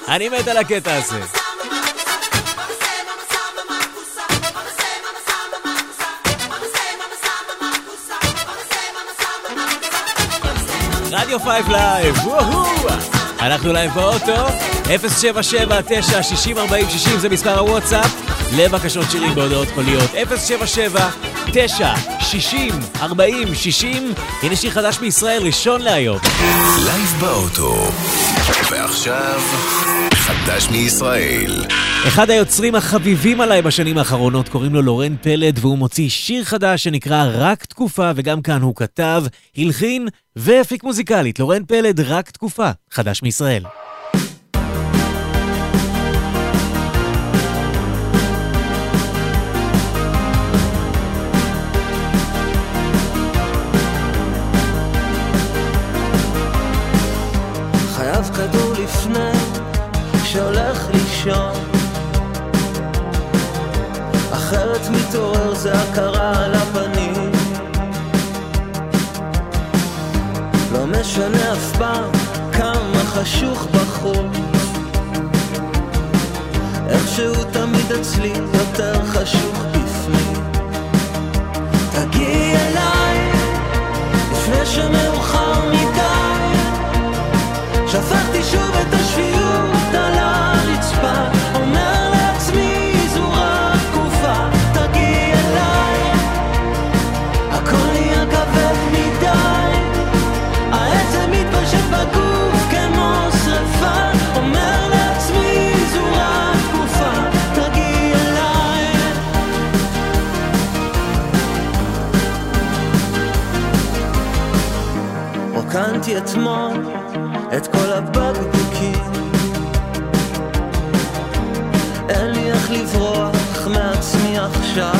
S3: אני מת על הקטע הזה. רדיו 5 לייב, אנחנו לייב באוטו, 077-960-4060 זה מספר הוואטסאפ, לבקשות שירים בהודעות קוליות, 077-960-4060, הנה שיר חדש מישראל, ראשון להיום.
S1: לייב באוטו, ועכשיו חדש מישראל.
S3: אחד היוצרים החביבים עליי בשנים האחרונות קוראים לו לורן פלד, והוא מוציא שיר חדש שנקרא רק תקופה, וגם כאן הוא כתב, הלחין והפיק מוזיקלית. לורן פלד, רק תקופה, חדש מישראל.
S12: חייב כדור לפני שהולך לישון, אחרת מתעורר זה הכרה על הפנים. לא משנה אף פעם כמה חשוך בחוץ, איכשהו תמיד אצלי יותר חשוך בפנים. תגיעי אליי לפני שמאוחר מדי, שפכתי שוב את השפיות על הרצפה, אומר לעצמי זו רק תקופה. תגיעי אליי, הכל נהיה כבד מדי, העצם מתפשט בגוף כמו שרפה, אומר לעצמי זו רק תקופה. תגיעי אליי. רוקנתי אתמול את כל הבקבוקים, אין לי איך לברוח מעצמי עכשיו,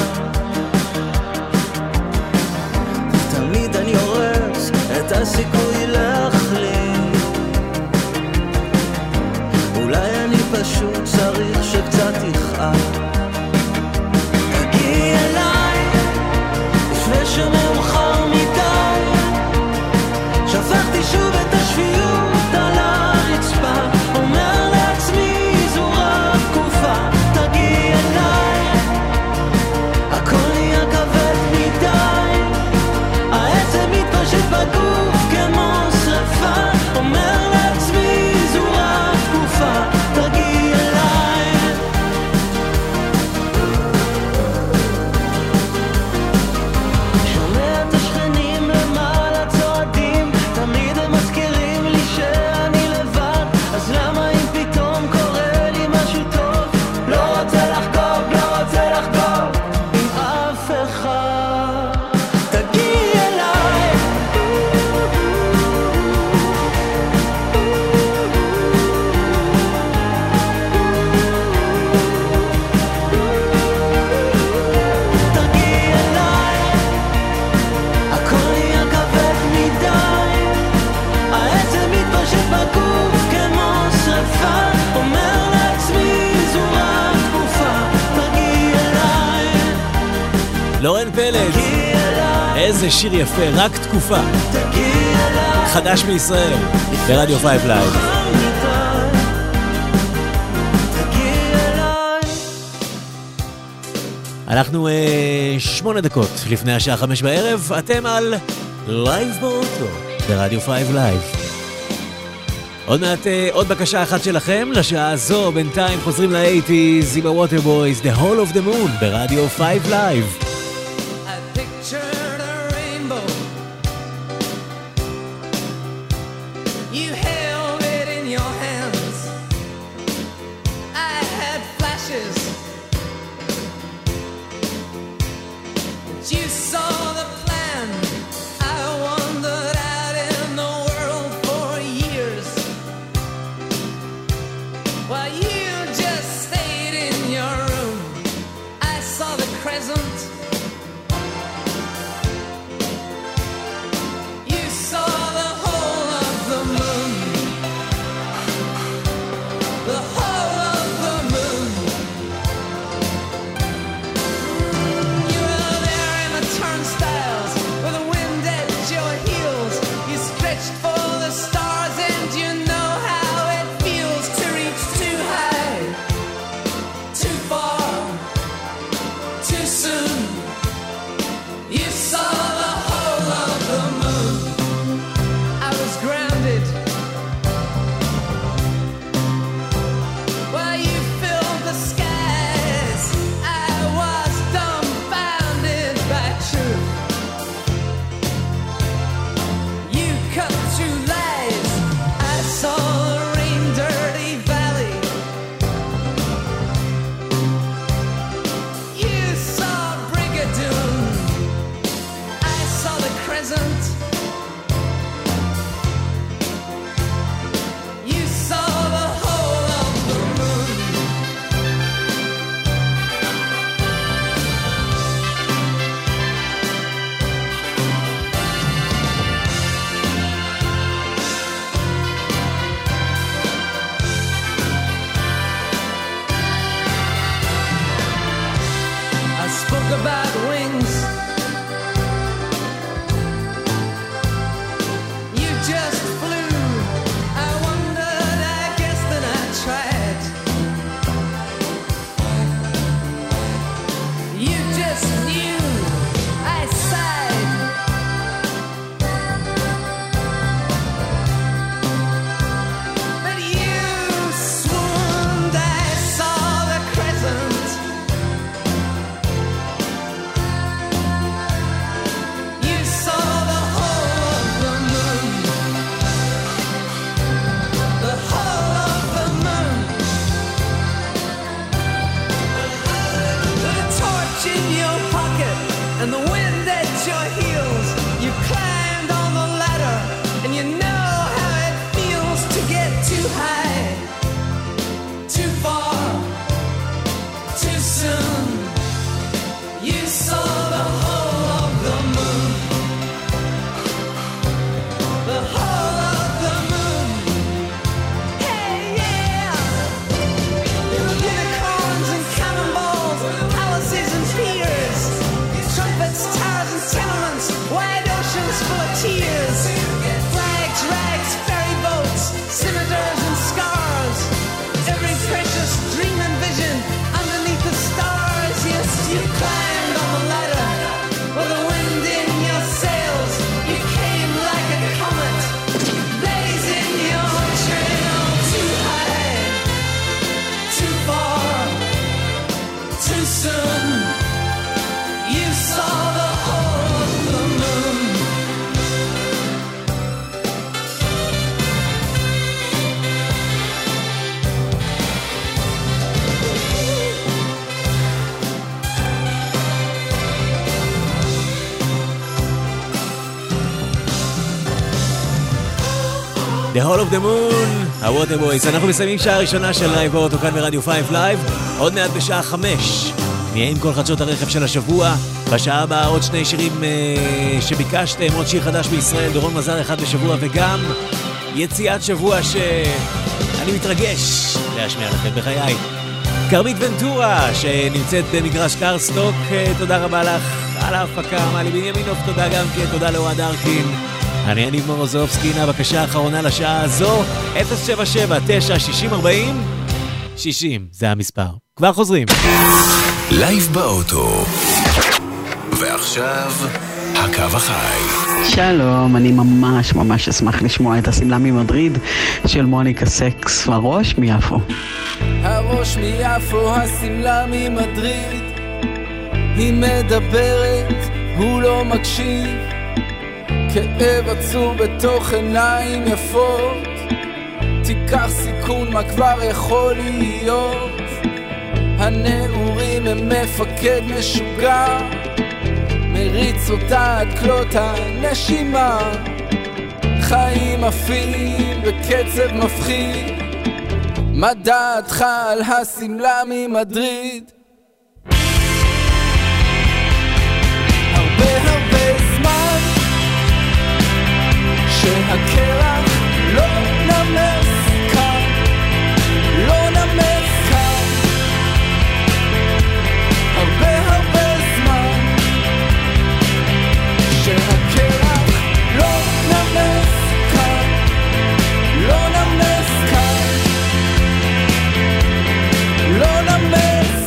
S12: תמיד אני הורס את הסיכוי להחלים. אולי אני פשוט צריך שקצת יכאב. תגיעי אליי לפני שמאוחר מדי, שפכתי שוב את השפיות על הרצפה, אומר לעצמי זו רק תקופה. תגיעי אליי, הכל נהיה כבד מדי, העצם מתפשט בגוף כמו שרפה, אומר לעצמי זו רק תקופה. תגיעי אליי. שומע את השכנים למעלה צועדים, תמיד הם מזכירים לי שאני לבד, אז למה אם פתאום קורה לי משהו טוב, לא רוצה לחגוג, לא רוצה לחגוג עם אף אחד. תגיעי אליי. תגיעי אליי, הכל נהיה כבד מדי, העצם מתפשט בגוף כמו שרפה, אומר לעצמי זו רק תקופה. תגיעי אליי.
S3: לורן פלד, איזה שיר יפה, רק תקופה, חדש מישראל ברדיו 5 לייב. אנחנו 8 דקות לפני השעה 5 בערב, אתם על לייב באוטו ברדיו 5 לייב. עוד מעט עוד בקשה אחת שלכם לשעה הזו, בינתיים חוזרים ל-80s עם הווטר בויז, The Hall of the Moon ברדיו 5 לייב.
S15: Pictured a rainbow, you held it in your hands, I had flashes, but you saw the plan. I wandered out in the world for years, while you just stayed in your room. I saw the crescent
S3: The Hall of the Moon, ה-Water Boys. אנחנו מסיימים שעה ראשונה של לייב באוטו כאן ברדיו 5 לייב. עוד מעט בשעה 5 נהיה עם כל חדשות הרכב של השבוע. בשעה הבאה עוד שני שירים שביקשתם, עוד שיר חדש בישראל, דורון מזר אחד בשבוע, וגם יציאת שבוע שאני מתרגש להשמיע לכם בחיי. קרמית ונטורה שנמצאת במגרש קרסטוק, תודה רבה לך על ההפקה. מלי בנימינוב, תודה גם כן, תודה לאוהד ארקין. אני יניב מורוזובסקי, בבקשה האחרונה לשעה הזו, 077-960-40 60, זה המספר. כבר חוזרים.
S1: לייב באוטו. ועכשיו, הקו החי.
S16: שלום, אני ממש אשמח לשמוע את הסמלה ממדריד של מוניקה סקס, הראש מיפו.
S15: הראש מיפו, הסמלה ממדריד, היא מדברת, הוא לא מקשיב, כאב עצור בתוך עיניים יפות, תיקח סיכון מה כבר יכול להיות, הנעורים הם מפקד משוגע, מריץ אותה עד כלות הנשימה, חיים עפים בקצב מפחיד, מה דעתך על הסמלה ממדריד? הרבה זמן שהקרח לא נמס כאן, לא נמס כאן, הרבה זמן שהקרח לא נמס כאן, לא נמס כאן, לא נמס.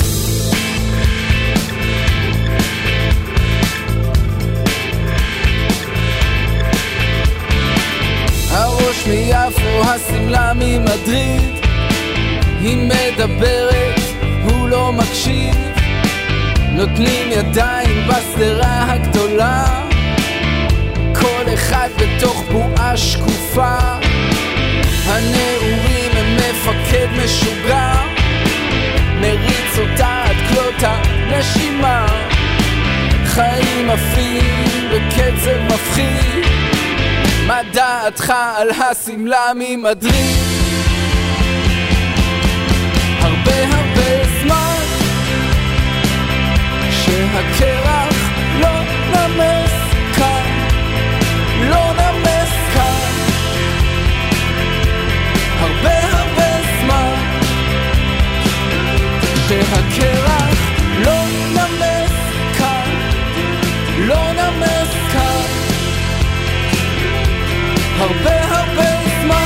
S15: הראש מיפו, הסמלה ממדריד, היא מדברת, הוא לא מקשיב, נותנים ידיים בסדרה הגדולה, כל אחד בתוך בועה שקופה, הנעורים הם מפקד משוגע, מריץ אותה עד כלות הנשימה, חיים עפים בקצב מפחיד, מה דעתך על הסמלה ממדריד? הרבה זמן שהקרח לא נמס כאן, לא נמס כאן, הרבה זמן שהקרח לא נמס כאן, לא נמס כאן, הרבה זמן.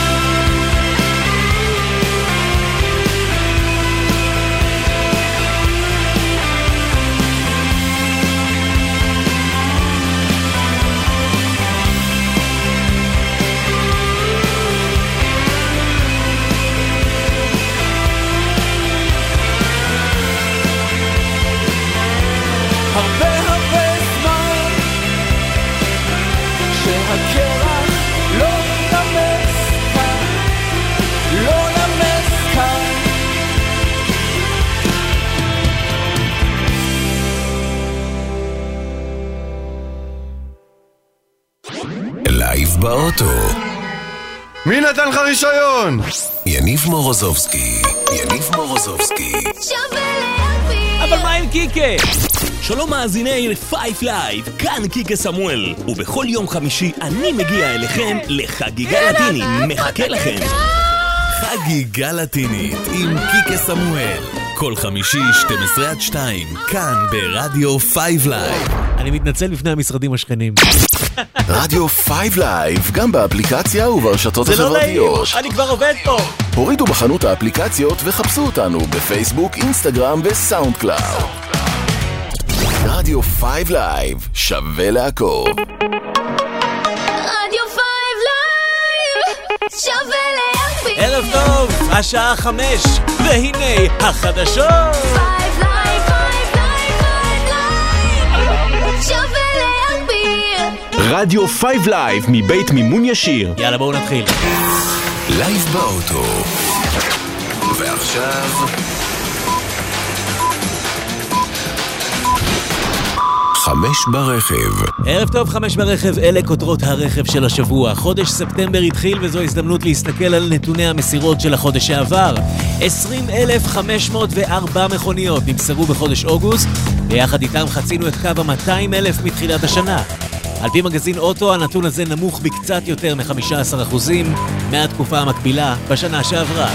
S15: הרבה זמן שהקרח לא נמס כאן, לא נמס כאן.
S1: לייב באוטו.
S17: מי נתן לך רישיון?
S1: יניב מורוזובסקי.
S3: אבל מה עם קיקה?
S18: שלום מאזיני 5 לייב, כאן קיקה סמואל, ובכל יום חמישי אני מגיע אליכם לחגיגה לטינית, מחכה לכם.
S1: חגיגה לטינית עם קיקה סמואל, כל חמישי 12-2, כאן ברדיו 5 לייב.
S3: אני מתנצל בפני המשרדים השכנים.
S1: רדיו 5 לייב, גם באפליקציה וברשתות החברתיות.
S3: זה לא נעים, אני כבר עובד פה.
S1: הורידו בחנות האפליקציות וחפשו אותנו בפייסבוק, אינסטגרם וסאונד קלאוד. רדיו 5 לייב, שווה לעקוב.
S2: רדיו 5 לייב, שווה להקביל.
S3: ערב טוב, השעה 5, והנה החדשות.
S2: 5 לייב, 5 לייב, 5 לייב, שווה להקביל.
S18: רדיו 5 לייב מבית מימון ישיר.
S3: יאללה בואו נתחיל.
S1: לייב באוטו. ועכשיו 5 ברכב.
S3: ערב טוב, 5 ברכב, אלה כותרות הרכב של השבוע. חודש ספטמבר התחיל וזו הזדמנות להסתכל על נתוני המסירות של החודש שעבר. 20,504 מכוניות נמסרו בחודש אוגוסט, ביחד איתם חצינו את קו ה-200,000 מתחילת השנה. על פי מגזין אוטו, הנתון הזה נמוך בקצת יותר מ-15% מהתקופה המקבילה בשנה שעברה.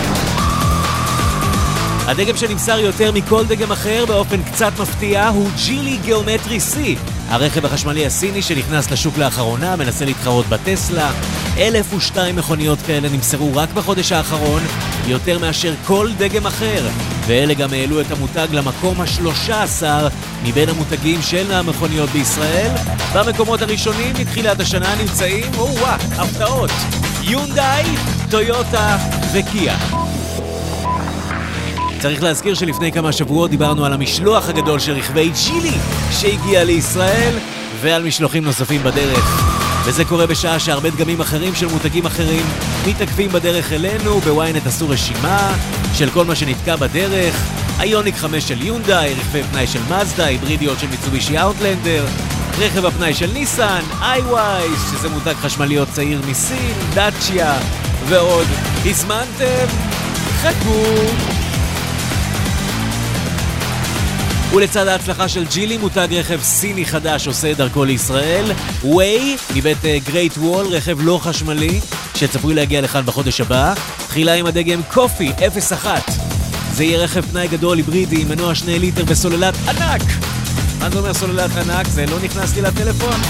S3: הדגם שנמסר יותר מכל דגם אחר באופן קצת מפתיע הוא ג'ילי גיאומטרי C, הרכב החשמלי הסיני שנכנס לשוק לאחרונה, מנסה להתחרות בטסלה. 1,002 מכוניות כאלה נמסרו רק בחודש האחרון, יותר מאשר כל דגם אחר, ואלה גם העלו את המותג למקום ה-13 מבין המותגים של המכוניות בישראל. במקומות הראשונים מתחילת השנה נמצאים, הפתעות, יונדאי, טויוטה וקיה. צריך להזכיר שלפני כמה שבועות דיברנו על המשלוח הגדול של רכבי ג'ילי שהגיע לישראל ועל משלוחים נוספים בדרך. וזה קורה בשעה שהרבה דגמים אחרים של מותגים אחרים מתעכבים בדרך אלינו. בוויינט עשו רשימה של כל מה שנתקע בדרך: איוניק 5 של יונדאי, רכבי פנאי של מזדה, היברידיות של מיצובישי אאוטלנדר, רכב הפנאי של ניסן, iWise שזה מותג חשמליות צעיר מסין, דאצ'יה ועוד. הזמנתם? חכו. ולצד ההצלחה של ג'ילי, מותג רכב סיני חדש עושה דרכו לישראל. ווי מבית גרייט וול, רכב לא חשמלי שצפוי להגיע לכאן בחודש הבא. תחילה עם הדגם קופי 01. זה יהיה רכב פנאי גדול היברידי עם מנוע 2 ליטר בסוללת ענק. מה זה אומר סוללת ענק? זה לא נכנס לי לטלפון.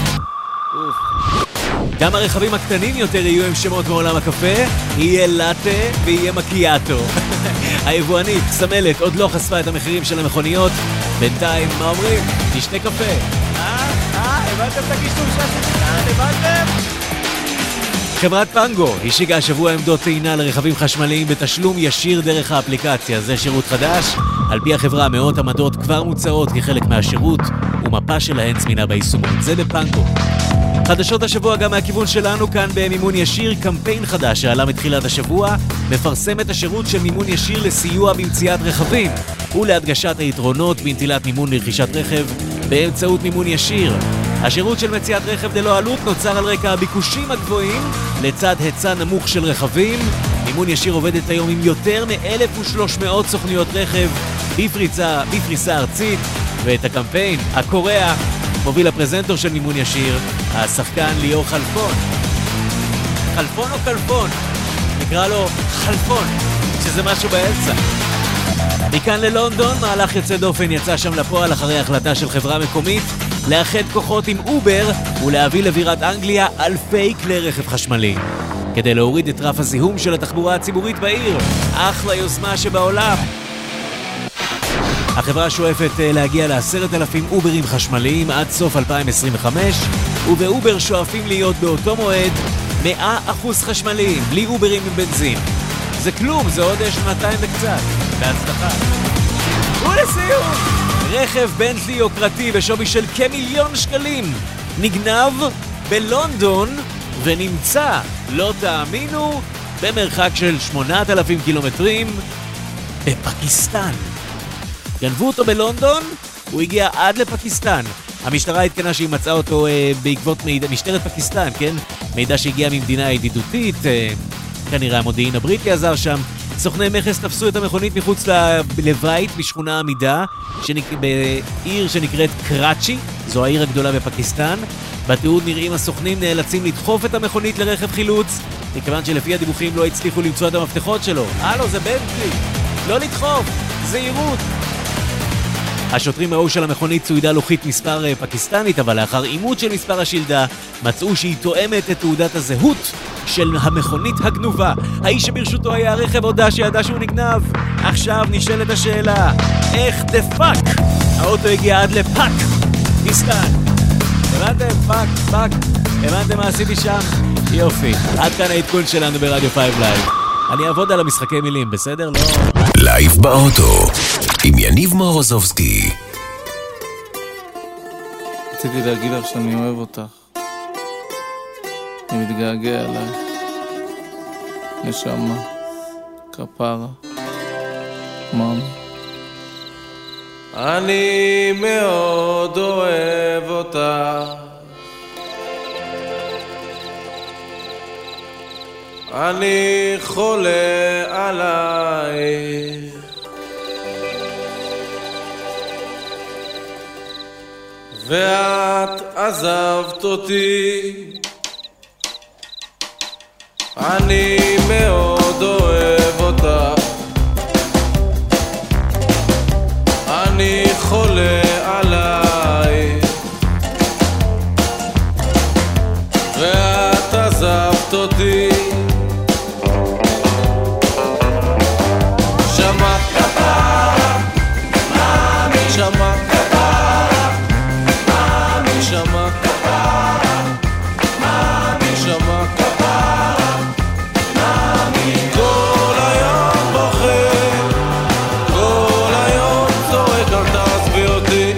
S3: גם הרכבים הקטנים יותר יהיו עם שמות מעולם הקפה, יהיה לטה ויהיה מקיאטו. היבואנית, סמלת, עוד לא חשפה את המחירים של המכוניות. בינתיים, מה אומרים? נשתה קפה. הבנתם את הקישור שעשיתי כאן? הבנתם? חברת פנגו השיגה השבוע עמדות טעינה לרכבים חשמליים בתשלום ישיר דרך האפליקציה. זה שירות חדש. על פי החברה, מאות עמדות כבר מוצעות כחלק מהשירות, ומפה שלהן זמינה ביישומות. זה בפנגו. חדשות השבוע גם מהכיוון שלנו, כאן במימון ישיר, קמפיין חדש שעלה מתחילת השבוע, מפרסם את השירות של מימון ישיר לסיוע במציאת רכבים ולהדגשת היתרונות בנטילת מימון לרכישת רכב באמצעות מימון ישיר. השירות של מציאת רכב ללא עלות נוצר על רקע הביקושים הגבוהים לצד היצע נמוך של רכבים. מימון ישיר עובדת היום עם יותר מ-1,300 סוכנויות רכב בפריסה ארצית, ואת הקמפיין הקורע מוביל הפרזנטור של מימון ישיר, השחקן ליאור חלפון. חלפון או קלפון? נקרא לו חלפון, שזה משהו באמצע. מכאן ללונדון, מהלך יוצא דופן יצא שם לפועל אחרי החלטה של חברה מקומית לאחד כוחות עם אובר ולהביא לבירת אנגליה אלפי כלי רכב חשמלי כדי להוריד את רף הזיהום של התחבורה הציבורית בעיר. אחלה יוזמה שבעולם. החברה שואפת להגיע ל10,000 אוברים חשמליים עד סוף 2025, ובאובר שואפים להיות באותו מועד 100% חשמליים, בלי אוברים עם בנזין. זה כלום, זה עוד 200 וקצת. בהצלחה. ולסיום, רכב בנטלי יוקרתי בשווי של כ1,000,000 שקלים נגנב בלונדון ונמצא, לא תאמינו, במרחק של 8,000 קילומטרים בפקיסטן. גנבו אותו בלונדון, הוא הגיע עד לפקיסטן. המשטרה התקנה שהיא מצאה אותו בעקבות מידע, משטרת פקיסטן, כן? מידע שהגיע ממדינה ידידותית, כנראה המודיעין הבריטי עזר שם. סוכני מכס תפסו את המכונית מחוץ לבית בשכונה עמידה, בעיר שנקראת קראצ'י, זו העיר הגדולה בפקיסטן. בתיעוד נראים הסוכנים נאלצים לדחוף את המכונית לרכב חילוץ, מכיוון שלפי הדיווחים לא הצליחו למצוא את המפתחות שלו. זה בנטלי, לא לדחוף, זהירות. השוטרים ראו של המכונית צוידה לוחית מספר פקיסטנית, אבל לאחר אימות של מספר השילדה מצאו שהיא תואמת את תעודת הזהות של המכונית הגנובה. האיש שברשותו היה הרכב הודע שידע שהוא נגנב. עכשיו נשאלת השאלה, איך דפק האוטו הגיע עד לפקיסטן? הבנתם? פאק. הבנתם מה עשיתי שם? יופי. עד כאן העדכון שלנו ברדיו 5 לייב. אני אעבוד על המשחקי מילים, בסדר? לא...
S1: לייב באוטו עם יניב מורוזובסקי.
S13: רציתי להגיד לך שאני אוהב אותך. אני מתגעגע אלייך. נשמה. כפרה. מאמי. אני מאוד אוהב אותה. אני חולה עלייך. ואת עזבת אותי. אני מאוד אוהב אותך. אני חולה עלייך. ואת עזבת אותי. שמעת כפרה, מאמי, שמעת כפרה, מאמי, שמעת כפרה, מאמי, שמעת כפרה, מאמי. כל היום בוכה, כל היום צועק, אל תעזבי אותי.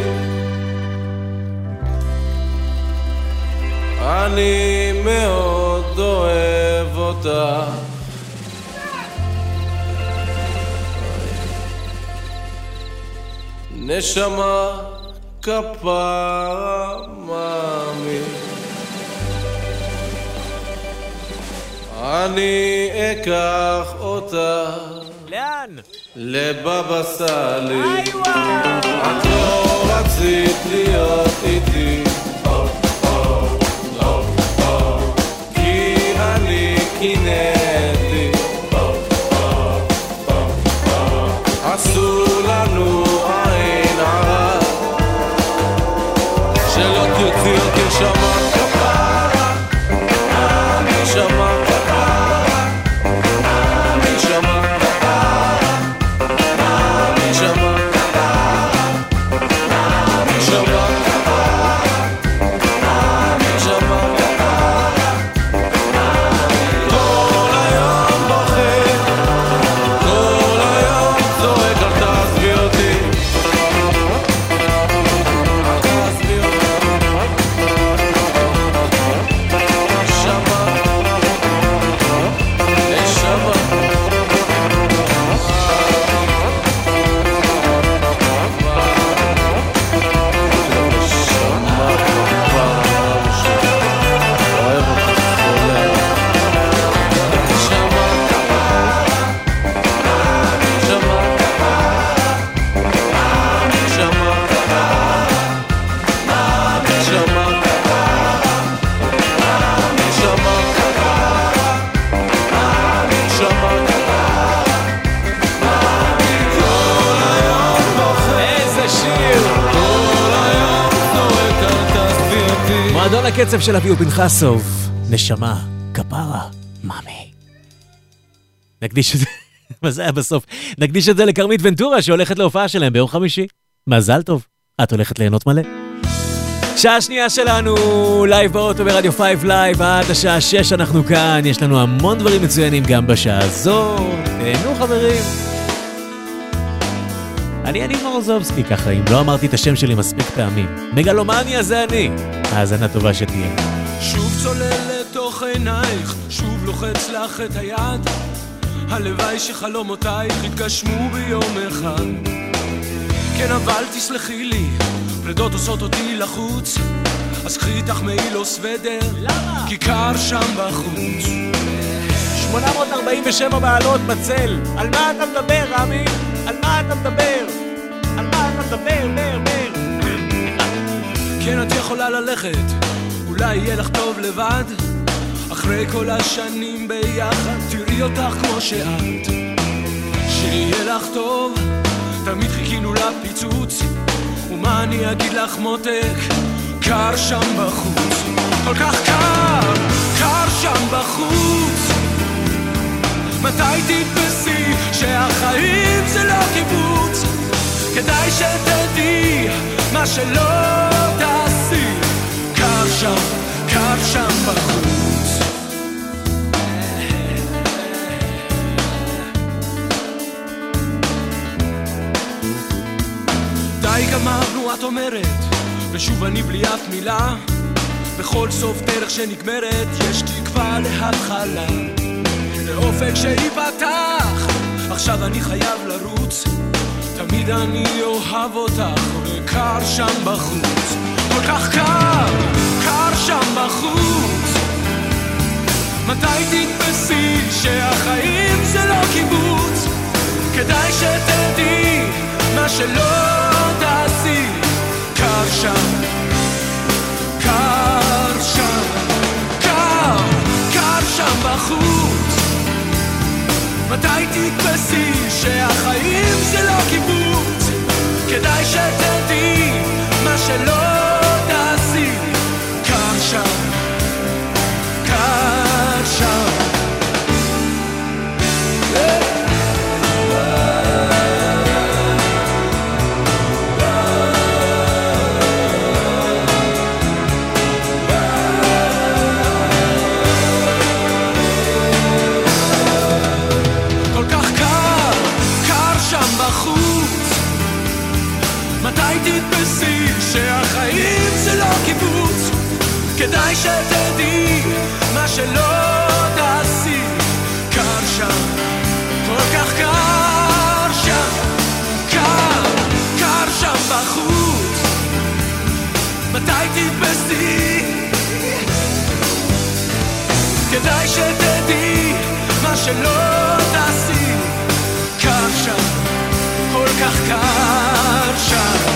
S13: אני מאוד אוהב אותך. נשמה כפרה מאמי. אני אקח אותה.
S3: לאן?
S13: לבבא סאלי. את לא רצית להיות איתי, כי אני קינאתי. אסור לנו עין הרע, שלא תרצי אותי. שמה כפרה, אני שמה כפרה, אני שמה כפרה, אני שמה כפרה, אני שמה כפרה, אני שמה כפרה. כל היום בוכה, כל היום צועק, אל תעזבי אותי. אל תעזבי אותי. שמה, נשמה.
S3: מועדון הקצב של אביהו פנחסוב, נשמה, כפרה, מאמי. נקדיש את זה, מה זה היה בסוף? נקדיש את זה לקרמית ונטורה שהולכת להופעה שלהם ביום חמישי. מזל טוב, את הולכת ליהנות מלא. שעה שנייה שלנו, לייב באוטו ברדיו 5 לייב, עד השעה 6 אנחנו כאן, יש לנו המון דברים מצוינים גם בשעה הזו. תהנו חברים. אני מורזובסקי ככה, אם לא אמרתי את השם שלי מספיק פעמים. מגלומניה זה אני. האזנה טובה שתהיה.
S19: שוב צולל לתוך עינייך, שוב לוחץ לך את היד. הלוואי שחלומותייך יתגשמו ביום אחד. כן אבל תסלחי לי, פרדות עושות אותי לחוץ. אז קחי איתך מעיל או סוודר. למה? כי קר שם בחוץ.
S3: 847 בעלות בצל. על מה אתה מדבר רמי? על מה אתה מדבר? על מה אתה מדבר?
S19: כן את יכולה ללכת, אולי יהיה לך טוב לבד. אחרי כל השנים ביחד תראי אותך כמו שאת. שיהיה לך טוב, תמיד חיכינו לפיצוץ. ומה אני אגיד לך מותק, קר שם בחוץ. כל כך קר, קר שם בחוץ. מתי תתפסי שהחיים זה לא קיבוץ? כדאי שתדעי מה שלא תעשי. קר שם בחוץ. די גמרנו את אומרת, ושוב אני בלי אף מילה. בכל סוף דרך שנגמרת יש תקווה להתחלה, לאופק שיפתח. עכשיו אני חייב לרוץ, תמיד אני אוהב אותך וקר שם בחוץ, כל כך קר, קר שם בחוץ. מתי תתפסי שהחיים זה לא קיבוץ? כדאי שתדעי מה שלא תעשי. קר שם, קר שם, קר, קר שם בחוץ. מתי תתפסי שהחיים זה לא קיבוץ? כדאי שתדעי מה שלא תעשי. קר שם, קר שם. תתפסי שהחיים זה לא קיבוץ, כדאי שתדעי מה שלא תעשי. קר שם, כל כך קר שם, קר, קר שם בחוץ. מתי תתפסי? כדאי שתדעי מה שלא תעשי. קר שם, כל כך קר שם.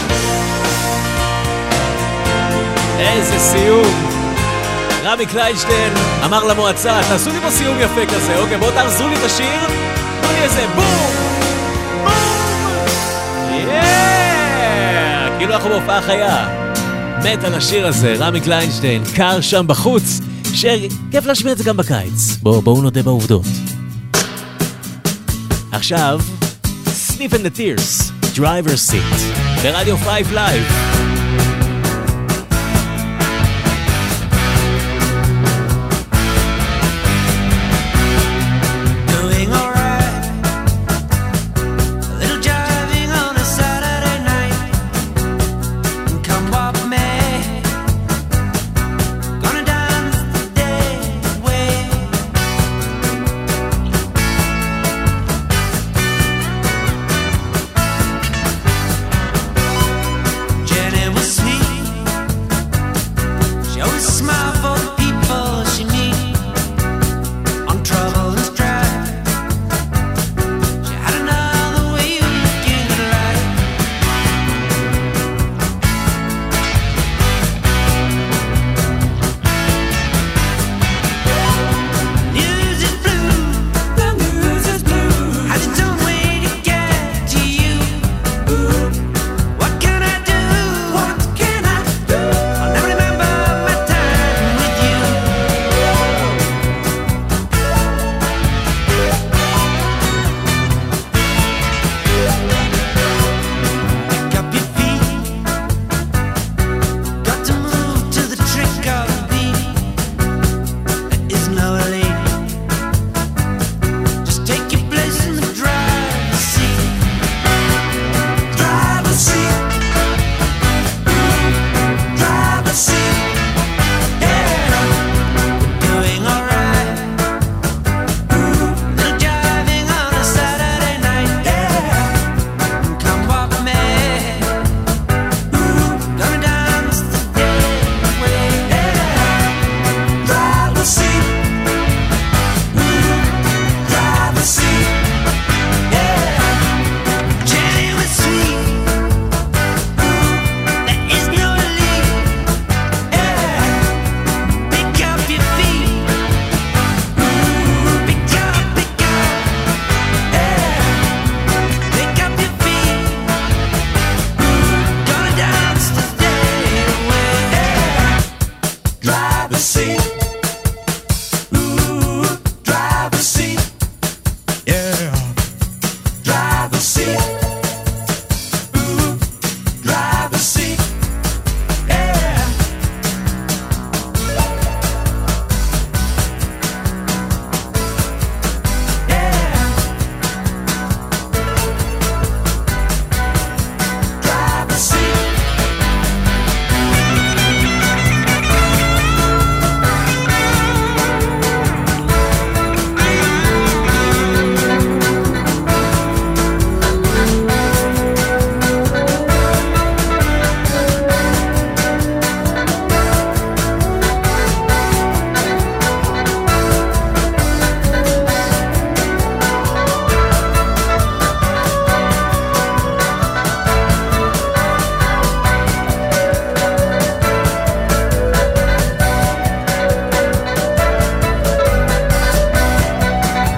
S3: איזה סיום. רמי קליינשטיין אמר למועצה, תעשו לי פה סיום יפה כזה, אוקיי, בואו תעזרו לי את השיר, תנו לי איזה בום, בום, כאילו אנחנו בהופעה חיה. מת על השיר הזה, רמי קליינשטיין, קר שם בחוץ, שכיף להשמיע את זה גם בקיץ. בואו נודה בעובדות. עכשיו Sniff and the Tears, Driver's Seat, ברדיו 5 Live.
S15: Jenny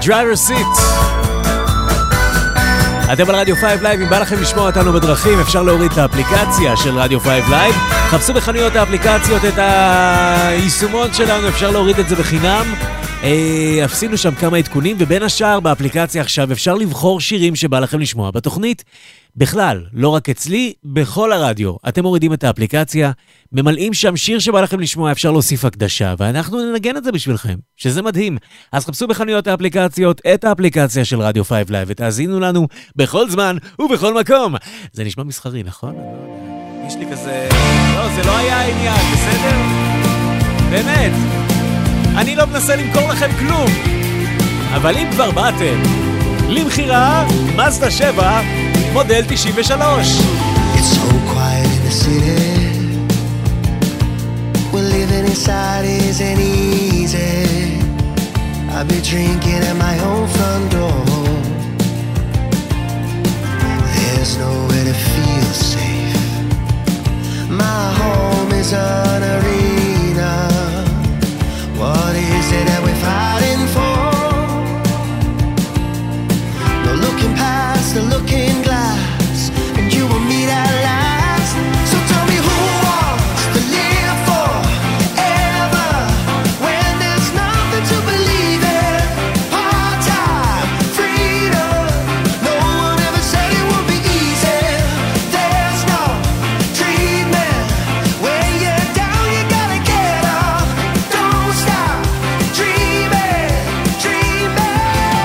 S3: Driver Seat. אתם על רדיו 5 לייב, אם בא לכם לשמוע אותנו בדרכים, אפשר להוריד את האפליקציה של רדיו 5 לייב. חפשו בחנויות האפליקציות את היישומון שלנו, אפשר להוריד את זה בחינם. עשינו שם כמה עדכונים, ובין השאר באפליקציה עכשיו אפשר לבחור שירים שבא לכם לשמוע בתוכנית. בכלל, לא רק אצלי, בכל הרדיו. אתם מורידים את האפליקציה, ממלאים שם שיר שבא לכם לשמוע, אפשר להוסיף הקדשה, ואנחנו ננגן את זה בשבילכם, שזה מדהים. אז חפשו בחנויות האפליקציות את האפליקציה של רדיו 5 לייב, ותאזינו לנו בכל זמן ובכל מקום. זה נשמע מסחרי, נכון? יש לי כזה... לא, זה לא היה העניין, בסדר? באמת. אני לא מנסה למכור לכם כלום. אבל אם כבר באתם, למחירה, מזדה 7, מודל 93.
S14: It's so quiet in the city. Well, living inside isn't easy. I'll be drinking at my own front door. There's nowhere to feel safe. My home is an arena. What is it that we're fighting for? No looking past the looking glass, and you will meet at last. So tell me who wants to live forever when there's nothing to believe in? Part-time freedom. No one ever said it would be easy. There's no treatment. When you're down, you gotta get up. Don't stop dreaming, dreaming.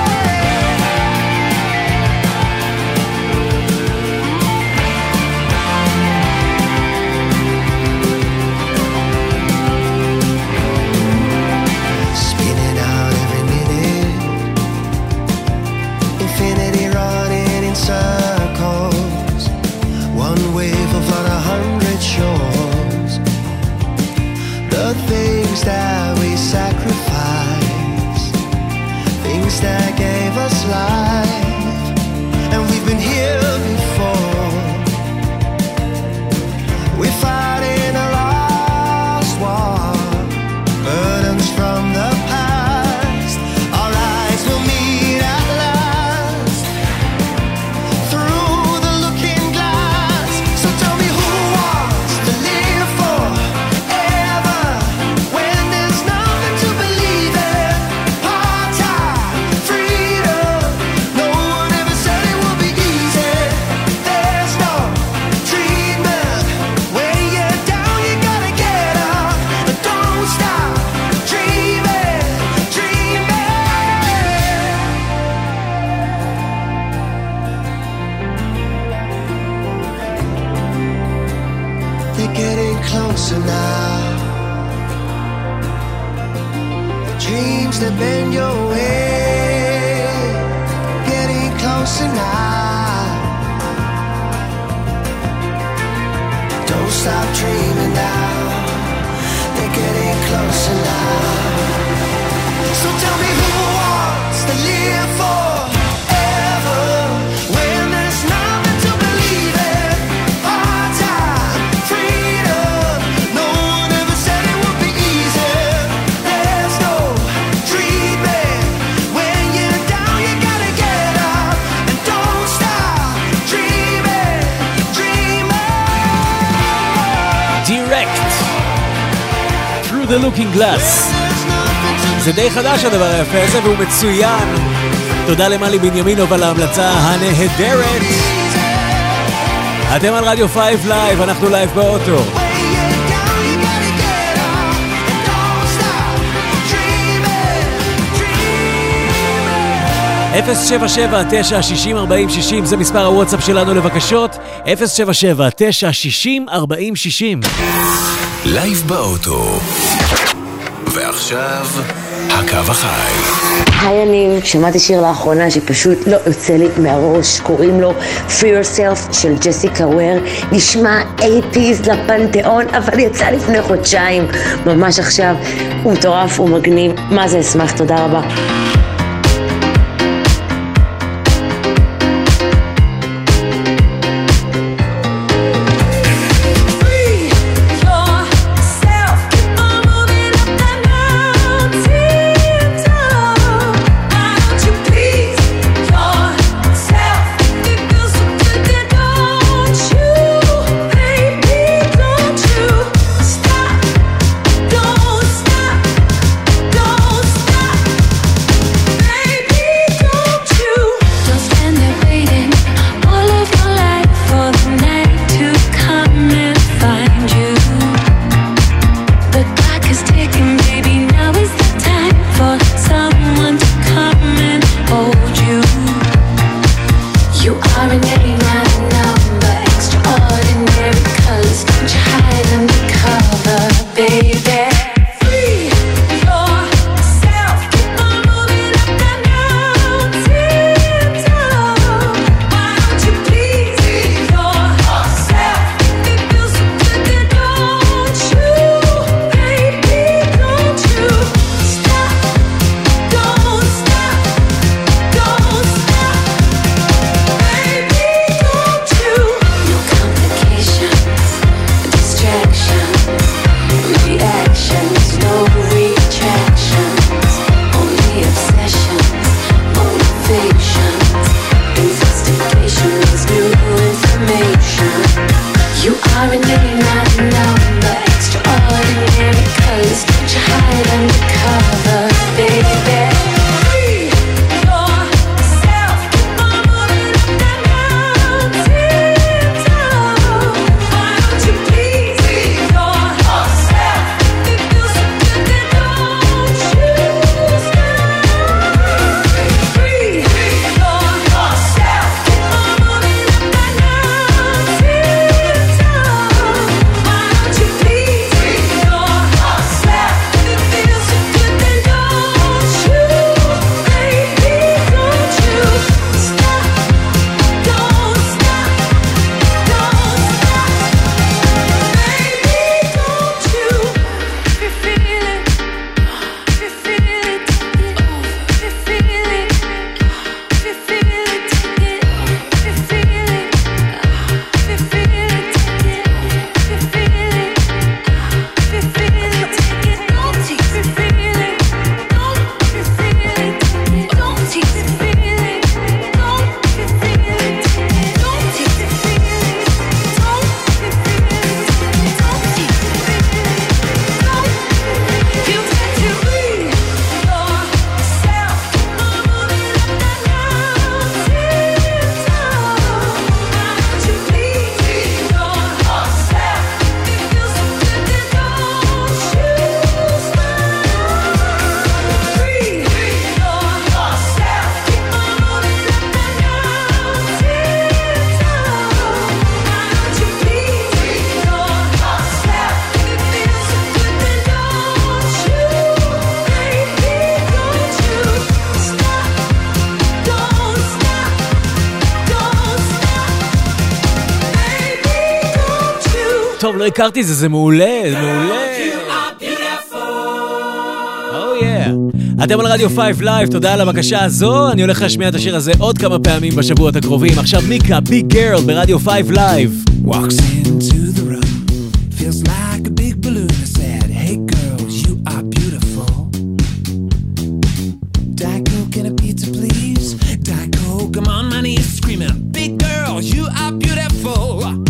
S14: Spinning out every minute, infinity running in circles. One wave will flood 100 shores. The things that we sacrifice, things that gave us life, and we've been here before. We're fighting a lost war, burdens from the past. Our eyes will meet at last through the looking glass. So tell me who wants to live forever when there's nothing to believe in? Part-time freedom. No one ever said it would be easy. There's no treatment. When you're down, you gotta get up. But don't stop dreaming, dreaming. They're getting closer now. The dreams that bend your way, getting closer now. Don't stop dreaming now. They're getting closer now. So tell me who wants to live forever when there's nothing to believe in? Part-time freedom. No one ever said it would be easy. There's no treatment. When you're down, you gotta get up. And don't stop dreaming, dreaming.
S3: Direct Through the Looking Glass. זה די חדש הדבר היפה הזה, והוא מצוין. תודה למלי בנימינוב על ההמלצה הנהדרת. אתם על רדיו 5 לייב, אנחנו לייב באוטו. 077-960-4060 זה מספר הוואטסאפ שלנו לבקשות. 077-960-4060.
S1: לייב באוטו. ועכשיו, הקו החי.
S20: היי, אני שמעתי שיר לאחרונה שפשוט לא יוצא לי מהראש, קוראים לו Free Yourself של ג'סיקה וויר. נשמע 80s לפנתיאון, אבל יצא לפני חודשיים, ממש עכשיו. הוא מטורף, הוא מגניב, מה זה אשמח, תודה רבה.
S2: Yourself, keep on moving up that mountain top. Why don't you
S3: טוב, לא הכרתי זה מעולה, זה מעולה. אתם על רדיו 5 Live, תודה על הבקשה הזו. אני הולך להשמיע את השיר הזה עוד כמה פעמים בשבועות הקרובים. עכשיו מיקה, ביג גרל ברדיו 5 Live.
S15: Walks into the room, feels like a big balloon. I said, hey girls, you are beautiful. Diet Coke and a pizza, please. Diet Coke, I'm on my knees screaming, big girls, you are beautiful.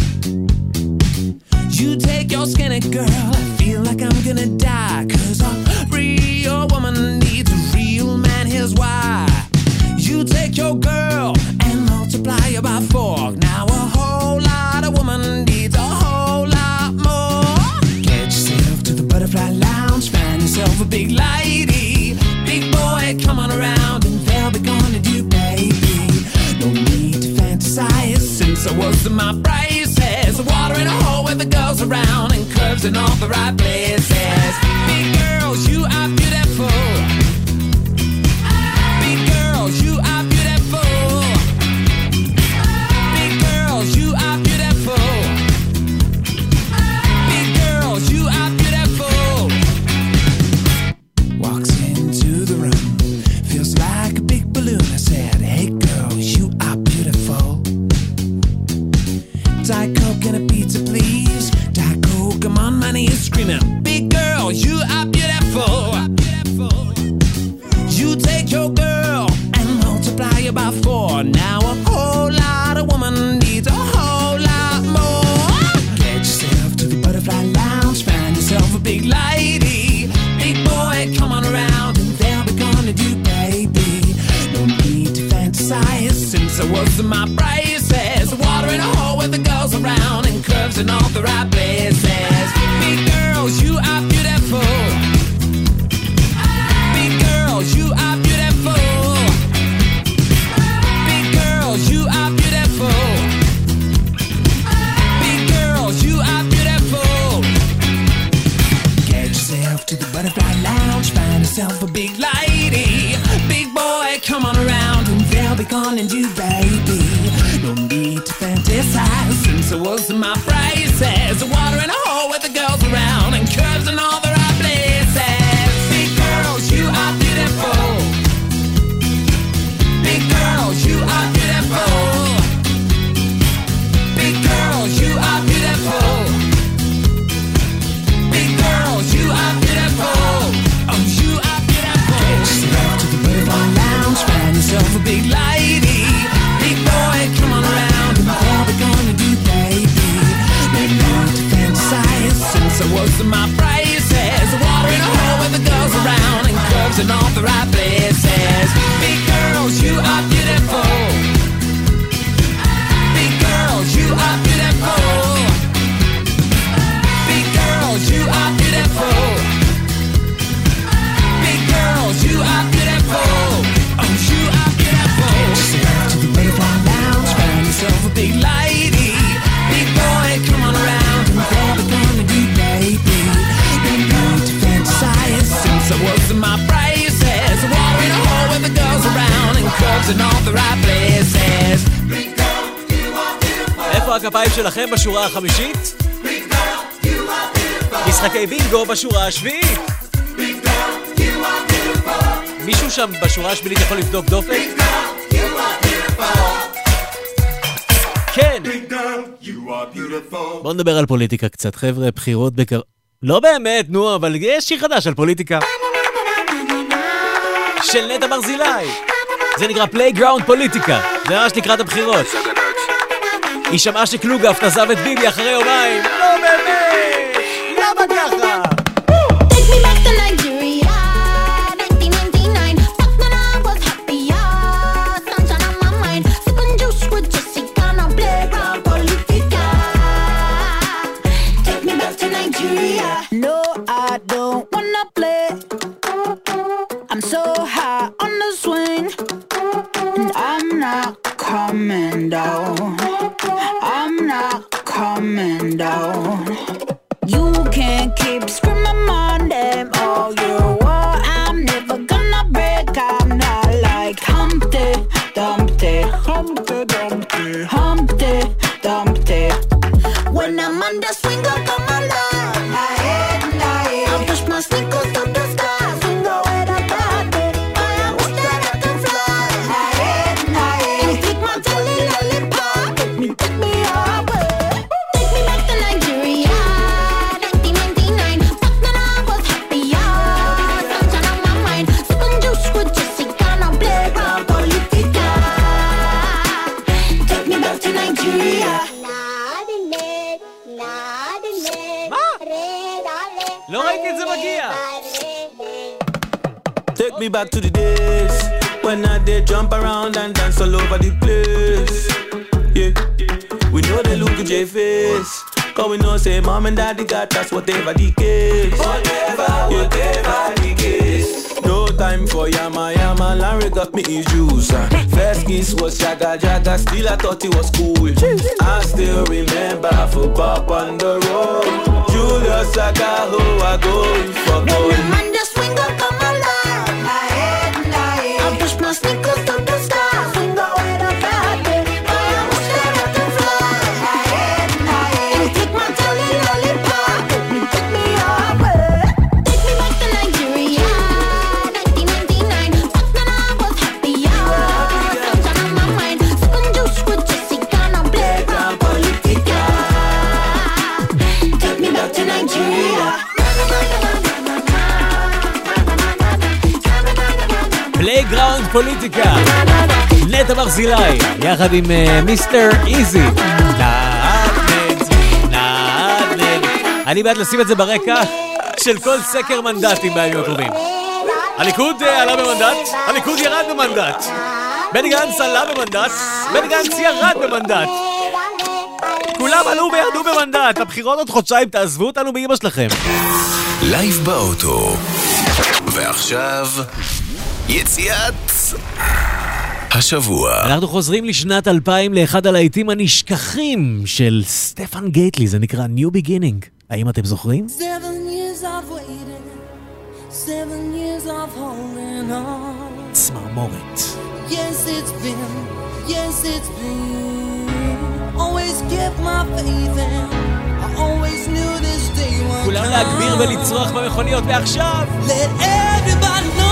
S15: You take your skinny girl, I feel like I'm gonna die. Cause a real woman needs a real man, here's why. You take your girl and multiply her by 4. Now a whole lot of woman needs a whole lot more. Get yourself to the butterfly lounge, find yourself a big lady. Big boy, come on around and they'll be gonna do, baby. No need to fantasize, since I was in my braces. Water in a hole with the girls around and curves in all the right places. Big girls, you are beautiful. Big girls, you are beautiful. Big girls, you are beautiful. Big girls, you are beautiful. Walks into the room, feels like a big balloon. I said, hey girls, you are beautiful. Diet Coke and a pizza, please. Diet Coke, I'm on my knees screaming, big girl, you are beautiful. You take your girl and multiply her by 4. Now a whole lot of woman needs a whole lot more. Get yourself to the butterfly lounge, find yourself a big lady. Big boy, come on around and they'll be gonna do, baby. No need to fantasize, since I was in my braces. Water in a hole with the girls around and curves in all the right places. Big girls, you are beautiful. Big girls, you are beautiful. Big girls, you are beautiful. Big girls, you are beautiful. Get yourself to the butterfly lounge, find yourself a big lady. Big boy, come on around and they'll be gonna do, baby. No need to fantasize, since I was in my braces. Water in a hole with the girls around and curves in all the right places. Big girls, you are beautiful. Big girls, you are beautiful. Big girls, you are beautiful. Big girls, you are beautiful. Oh, you are beautiful. Get yourself to the butterfly lounge, find yourself a big lady. Big boy, come on around and they'll be gonna do, baby. No need to fantasize, since I was in my braces. Water in a hole with the girls around and curves in all the right places. Big girls, you are beautiful. Big girls, you are beautiful. Big girls, you are beautiful. Big girls, you are beautiful. Oh, you are beautiful. Get yourself to the butterfly lounge, find yourself a big lady. Big boy, come on around and they'll be gonna do, baby. No need to fantasize, since I was in my braces. Water in a hole with the girls around and curves in all the right places.
S3: איפה הכפיים שלכם בשורה החמישית? משחקי בינגו בשורה השביעית. מישהו שם בשורה השמינית יכול לבדוק דופק? כן. בוא נדבר על פוליטיקה קצת, חבר'ה, בחירות לא באמת, נו, אבל יש שיר חדש על פוליטיקה. של נטע ברזילי. זה נקרא פלייגראונד פוליטיקה. זה ממש לקראת הבחירות. היא שמעה שקלוגהפט עזב את ביבי אחרי יומיים. לא באמת! למה ככה?
S2: Take me back to Nigeria, 1999. Back then I was happier, sunshine on my mind. Sipping juice with Jessica, now playground politica. Take me back to Nigeria. No, I don't wanna play. I'm so high on the swing, and I'm not coming down. I'm not coming down. You can't keep screaming my name all you want. I'm never gonna break. I'm not like Humpty Dumpty, Humpty Dumpty, Humpty Dumpty. When I'm on the swing,
S13: take me back to the days when I did jump around and dance all over the place. Yeah, we know they look at your face, cause we know say mom and daddy got us whatever the case. Whatever the case. No time for yama yama, Larry got me his juice. First kiss was jaga jaga, still I thought it was cool. I still remember for Pop on the road. Julius Saka, who I go for gold.
S2: When the man just swing up, come alive. My head and I push my sneakers to the sky. Swing away the bad day, I wish that I could fly. My head and I take my jelly lollipop, take me away. Take me back to Nigeria, 1999. Back then I was happier. Sunshine on my mind, sipping juice with Jessica, now playground politica. Take me back to Nigeria.
S3: פלייגראונד פוליטיקה, נטע ברזילי, יחד עם מיסטר איזי. נעדנד. אני בעד לשים את זה ברקע של כל סקר מנדטים בימים הקרובים. הליכוד עלה במנדט, הליכוד ירד במנדט. בני גנץ עלה במנדט, בני גנץ ירד במנדט. כולם עלו וירדו במנדט. הבחירות עוד חודשיים, תעזבו אותנו באמא שלכם.
S1: לייב באוטו. ועכשיו יציאת השבוע.
S3: אנחנו חוזרים לשנת 2000 לאחד הלהיטים הנשכחים של סטפן גייטלי, זה נקרא New Beginning. האם אתם זוכרים?
S2: 7 years of waiting, 7 years of holding on.
S3: צמרמורת.
S2: Yes it's been, always kept my faith in, I always knew this day would come.
S3: כולם להגביר ולצרוח במכוניות ועכשיו.
S2: Let everybody know.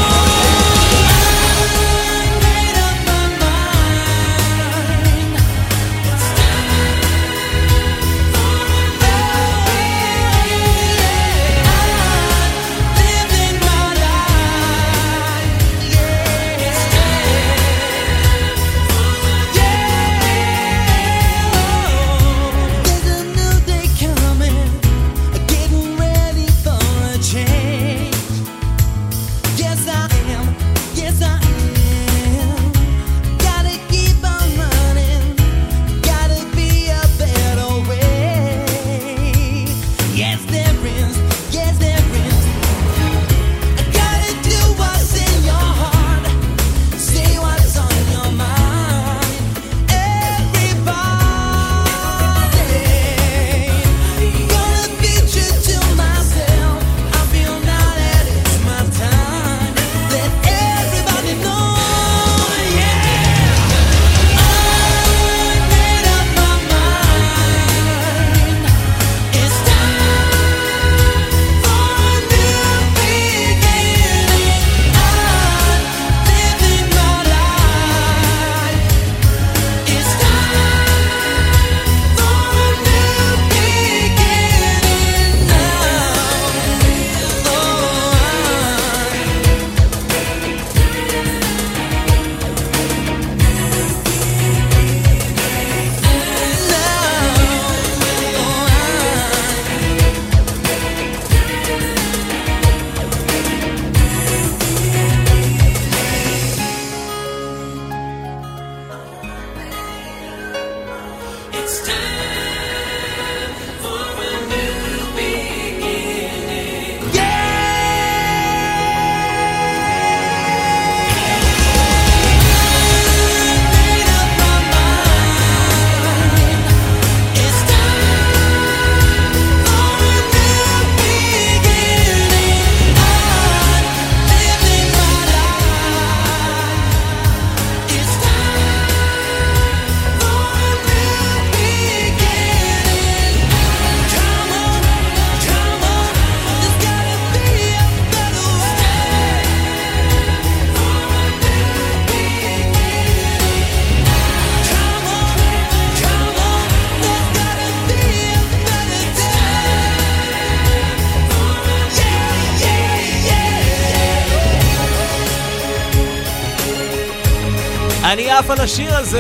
S3: אני עף על השיר הזה.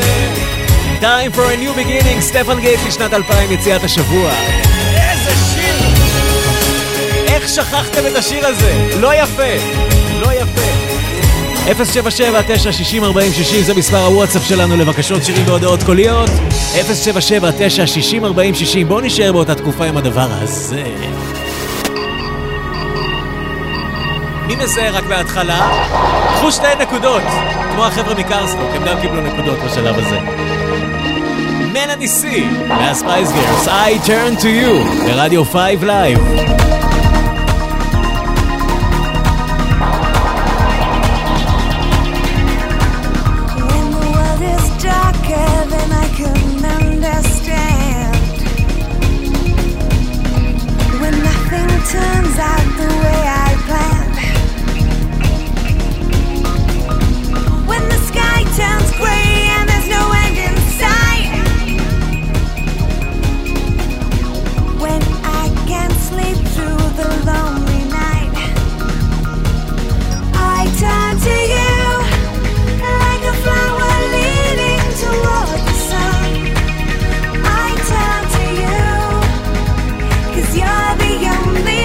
S3: Time for a new beginning, סטפן גייטלי, שנת 2000, יציאת השבוע. איזה שיר! איך שכחתם את השיר הזה? לא יפה. לא יפה. 077-960-4060 זה מספר הוואטסאפ שלנו לבקשות שירים והודעות קוליות. 077-960-4060. בואו נשאר באותה תקופה עם הדבר הזה. מי מזהה רק בהתחלה? קחו 2 נקודות, כמו החבר'ה מקרסטוק, הם גם קיבלו נקודות בשלב הזה. מלאני סי, מהספייס גרס, I turn to you, ברדיו 5 Live.
S2: Turns out the way I planned. When the sky turns gray and there's no end in sight. When I can't sleep through the lonely night. I turn to you like a flower leading toward the sun. I turn to you 'cause you're the only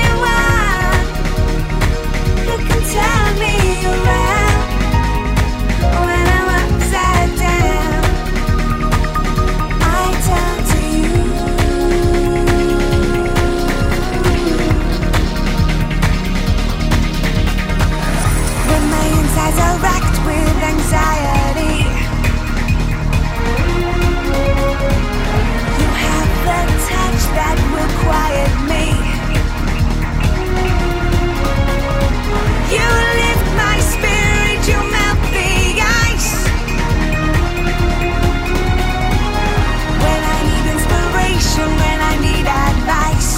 S2: turn me around when I'm upside down. I turn to you. When my insides are racked with anxiety, you have the touch that will quiet me. You lift my spirit, you melt the ice. When I need inspiration, when I need advice,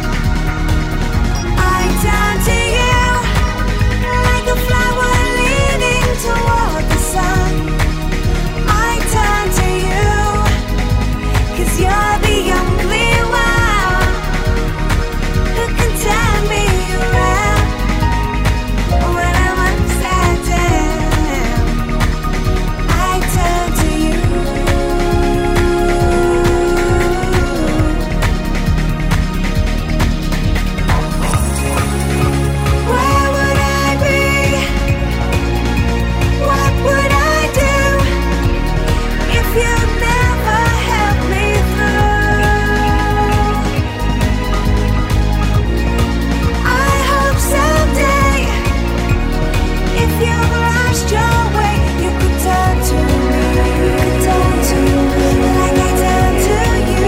S2: I turn to you like a flower leading toward the sun. I turn to you 'cause you're the only one who can turn me around. When I'm upside down, I turn to you. Where would I be? What would I do if you'd never help me through? I hope someday, if you've lost your way, you could turn to me. You could turn to me like I turn to you.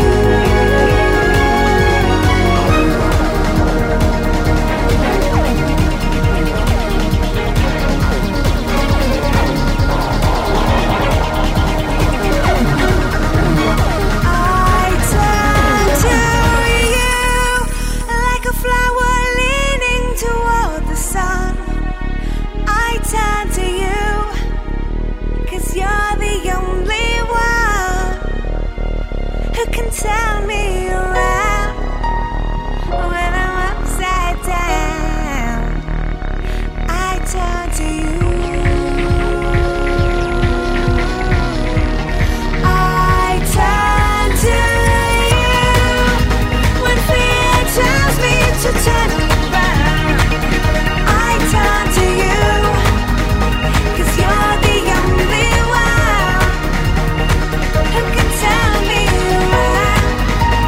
S2: I turn to you like a flower leaning toward the sun. I turn to you 'cause you're the only one who can turn me around when I'm upside down. I turn to you. I turn to you when fear tells me to turn around. I turn to you 'cause you're the only one who can turn me around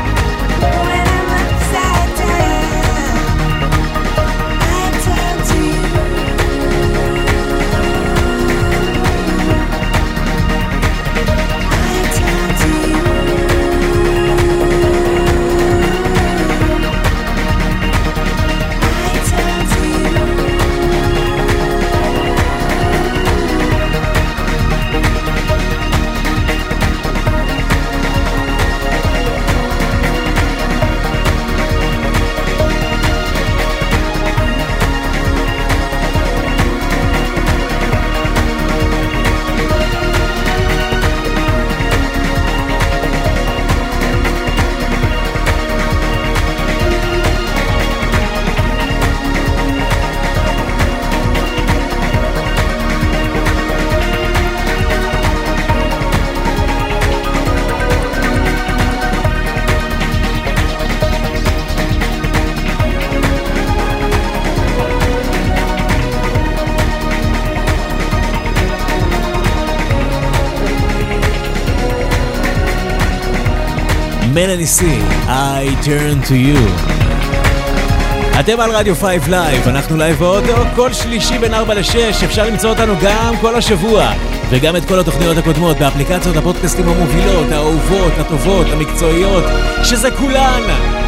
S3: מלאני סי, I turn to you. אתם על רדיו 5 לייב, אנחנו לייב באוטו, כל שלישי בין 4 ל-6, אפשר למצוא אותנו גם כל השבוע, וגם את כל התוכניות הקודמות באפליקציות הפודקאסטים המובילות, האהובות, הטובות, המקצועיות, שזה כולן.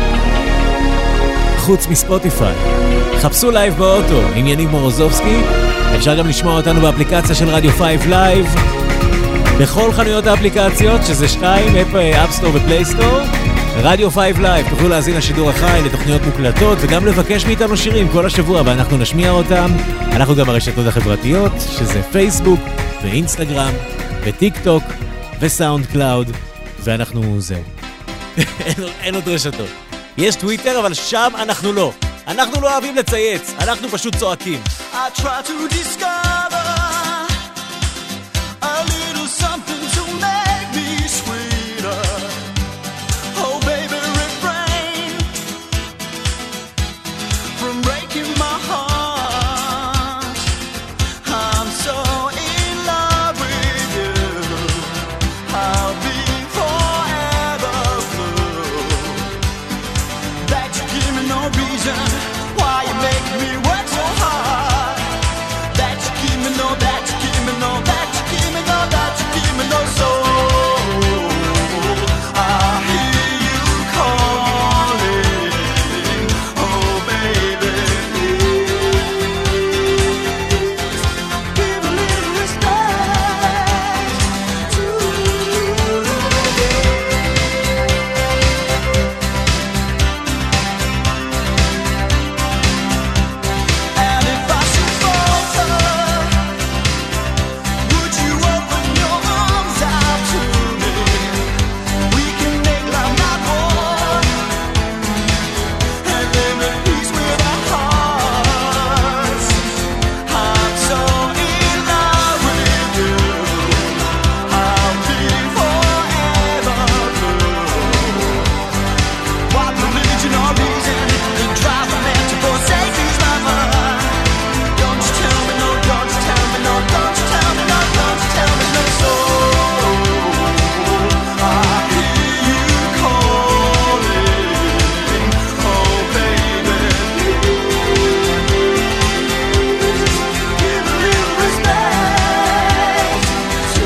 S3: חוץ מספוטיפיי. חפשו לייב באוטו, עם יניב מורוזובסקי, אפשר גם לשמוע אותנו באפליקציה של רדיו 5 לייב, בכל חנויות האפליקציות, שזה 2, אפסטור ופלייסטור, רדיו 5 לייב, תוכלו להזין השידור החי לתוכניות מוקלטות וגם לבקש מאיתנו שירים כל השבוע ואנחנו נשמיע אותם. אנחנו גם ברשתות החברתיות, שזה פייסבוק ואינסטגרם וטיק טוק וסאונד קלאוד, ואנחנו זהו. אין עוד רשתות. יש טוויטר, אבל שם אנחנו לא. אנחנו לא אוהבים לצייץ, אנחנו פשוט צועקים.
S12: I try to discover a little something to make me sweeter. Oh baby, refrain from breaking my heart. I'm so in love with you. I'll be forever blue. That you give me no reason why you make me work so hard. That you give me no, that you give me no, that you give me no, that you give me no soul. I hear you calling, oh baby, give a little respect to And if I should falter, would you open your arms out to me? We can make love not war, and live in peace with our hearts. I'm so in love with you. I'll be forever blue. What religion or reason could drive a man to forsake his lover? Don't you tell me no, don't you tell me no, don't you tell me no, don't you tell me no soul. I hear you calling, oh baby, give a little respect to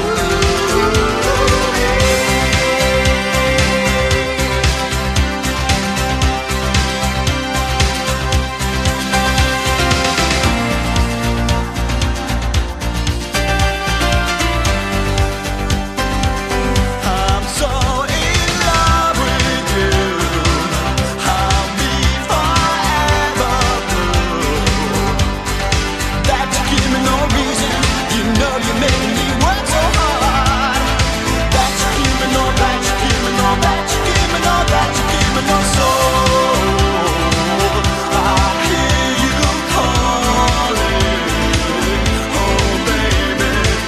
S12: I'm so in love with you. I'll be forever blue. That you give me no reason. You know you're making me work so hard. That you give me no, that you give me no, that you give me no, that you give me no soul. I hear you calling, oh baby,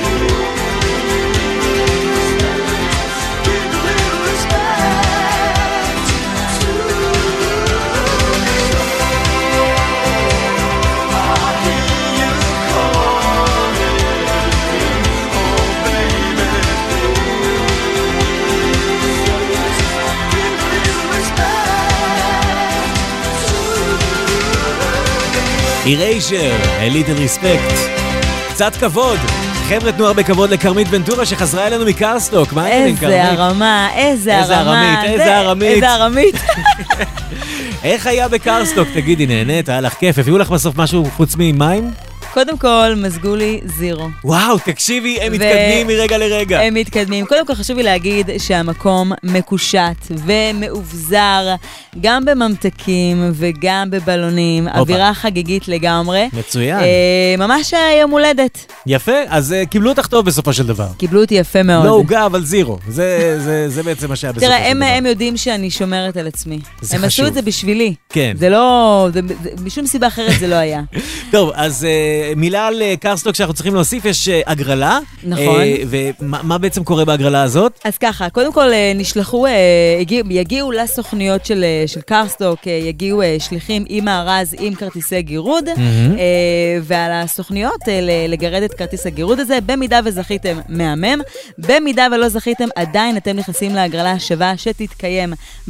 S12: give a little respect to I hear you calling, oh baby, give a little respect
S3: אירייז'ר, a little respect. קצת כבוד. חבר'ה, תנו הרבה כבוד לקרמית ונטורה שחזרה אלינו מקרסטוק. מה העניינים, קרמית?
S5: איזה הרמה, איזה
S3: איזה
S5: הרמה.
S3: ארמית, איזה ארמית.
S5: איזה ארמית.
S3: איך היה בקרסטוק? תגידי, נהנית? היה לך כיף? הביאו לך בסוף משהו חוץ ממים?
S5: קודם כל, מזגו לי זירו.
S3: וואו, תקשיבי, הם מתקדמים מרגע לרגע.
S5: הם מתקדמים. קודם כל חשוב לי להגיד שהמקום מקושט ומאובזר, גם בממתקים וגם בבלונים, אווירה חגיגית לגמרי.
S3: מצוין.
S5: ממש יום הולדת.
S3: יפה, אז קיבלו אותך טוב בסופו של דבר.
S5: קיבלו אותי יפה מאוד.
S3: לא הוגה, אבל זירו. זה בעצם מה שהיה בסופו של דבר.
S5: תראה, הם יודעים שאני שומרת על עצמי.
S3: זה
S5: הם
S3: חשוב.
S5: עשו את זה בשבילי.
S3: כן.
S5: זה לא, משום סיבה אחרת זה לא היה.
S3: טוב, אז מילה על קרסטוק שאנחנו צריכים להוסיף, יש הגרלה.
S5: נכון.
S3: ומה בעצם קורה בהגרלה הזאת?
S5: אז ככה, קודם כל יגיעו לסוכניות של קרסטוק, יגיעו שליחים עם מארז, עם כרטיסי גירוד, ועל הסוכניות לגרד את כרטיס הגירוד הזה, במידה וזכיתם מהמם, במידה ולא זכיתם, עדיין אתם נכנסים להגרלה השווה שתתקיים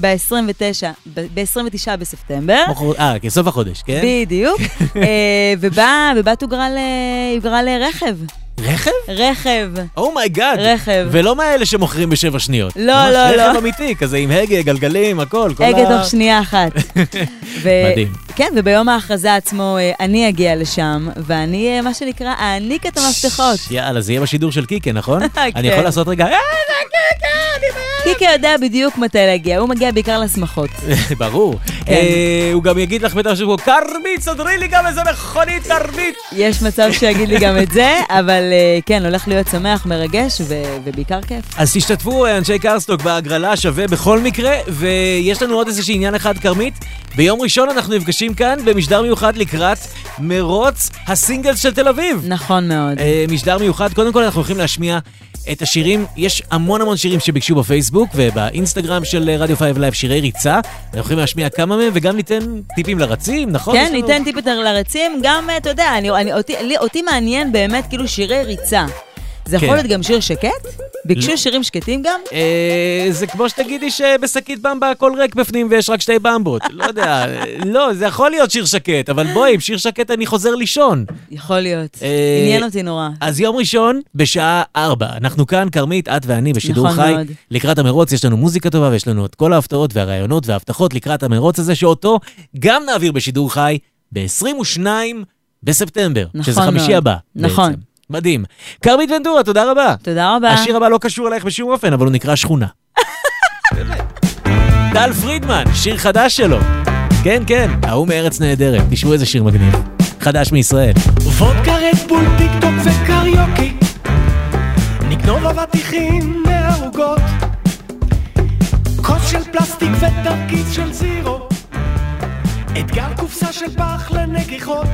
S5: ב-29 בספטמבר.
S3: כסוף החודש, כן?
S5: בדיוק. ובא תוגרל רכב.
S3: רכב?
S5: רכב.
S3: אומייגאד.
S5: רכב.
S3: ולא מאלה שמוכרים ב7 שניות.
S5: לא, לא, לא.
S3: רכב אמיתי, כזה עם הגה, גלגלים, הכל.
S5: הגה תוך שנייה אחת.
S3: מדהים.
S5: כן, וביום ההכרזה עצמו אני אגיע לשם, ואני, מה שנקרא, אעניק את המפתחות.
S3: יאללה, זה יהיה בשידור של קיקה, נכון? אני יכול לעשות רגע,
S5: קיקה יודע בדיוק מתי להגיע, הוא מגיע בעיקר לשמחות.
S3: ברור. הוא גם יגיד לך בטח שבו, קרמית, סדרי לי גם איזה מכונית, קרמית.
S5: יש מצב שיגיד לי גם את זה, אבל כן, הולך להיות שמח, מרגש ובעיקר כיף.
S3: אז תשתתפו אנשי קרסטוק בהגרלה שווה בכל מקרה, ויש לנו עוד איזשהו עניין אחד, קרמית. ביום ראשון אנחנו נפגשים כאן במשדר מיוחד לקראת מרוץ הסינגלס של תל אביב.
S5: נכון מאוד.
S3: משדר מיוחד, קודם כל אנחנו הולכים להשמיע את השירים, יש המון שירים שביקשו בפייסבוק ובאינסטגרם של רדיו 5 לייב, שירי ריצה. אנחנו יכולים להשמיע כמה מהם וגם ניתן טיפים לרצים, נכון?
S5: כן, ניתן טיפים לרצים, גם, אתה יודע, אותי מעניין באמת כאילו שירי ריצה. זה יכול להיות גם שיר שקט? ביקשו שירים שקטים גם?
S3: זה כמו שתגידי שבשקית במבה הכל ריק בפנים ויש רק 2 במבות. לא יודע, לא, זה יכול להיות שיר שקט, אבל בואי, עם שיר שקט אני חוזר לישון.
S5: יכול להיות, עניין אותי נורא.
S3: אז יום ראשון בשעה 4, אנחנו כאן, קרמית, את ואני בשידור חי. לקראת המרוץ יש לנו מוזיקה טובה ויש לנו את כל ההפתעות והרעיונות וההבטחות לקראת המרוץ הזה, שאותו גם נעביר בשידור חי ב-22 בספטמבר, שזה חמישי הבא.
S5: נכון.
S3: מדהים. קרמית ונדורה, תודה רבה.
S5: תודה רבה.
S3: השיר הבא לא קשור אלייך בשום אופן, אבל הוא נקרא שכונה. טל פרידמן, שיר חדש שלו. כן, כן, ההוא מארץ נהדרת. תשמעו איזה שיר מגניב. חדש מישראל.
S19: וודקה רדבול, טיק טוק וקריוקי, נגנוב אבטיחים מהרוגות, כוס של פלסטיק ותרכיז של זירו, אתגר קופסה של פח לנגיחות,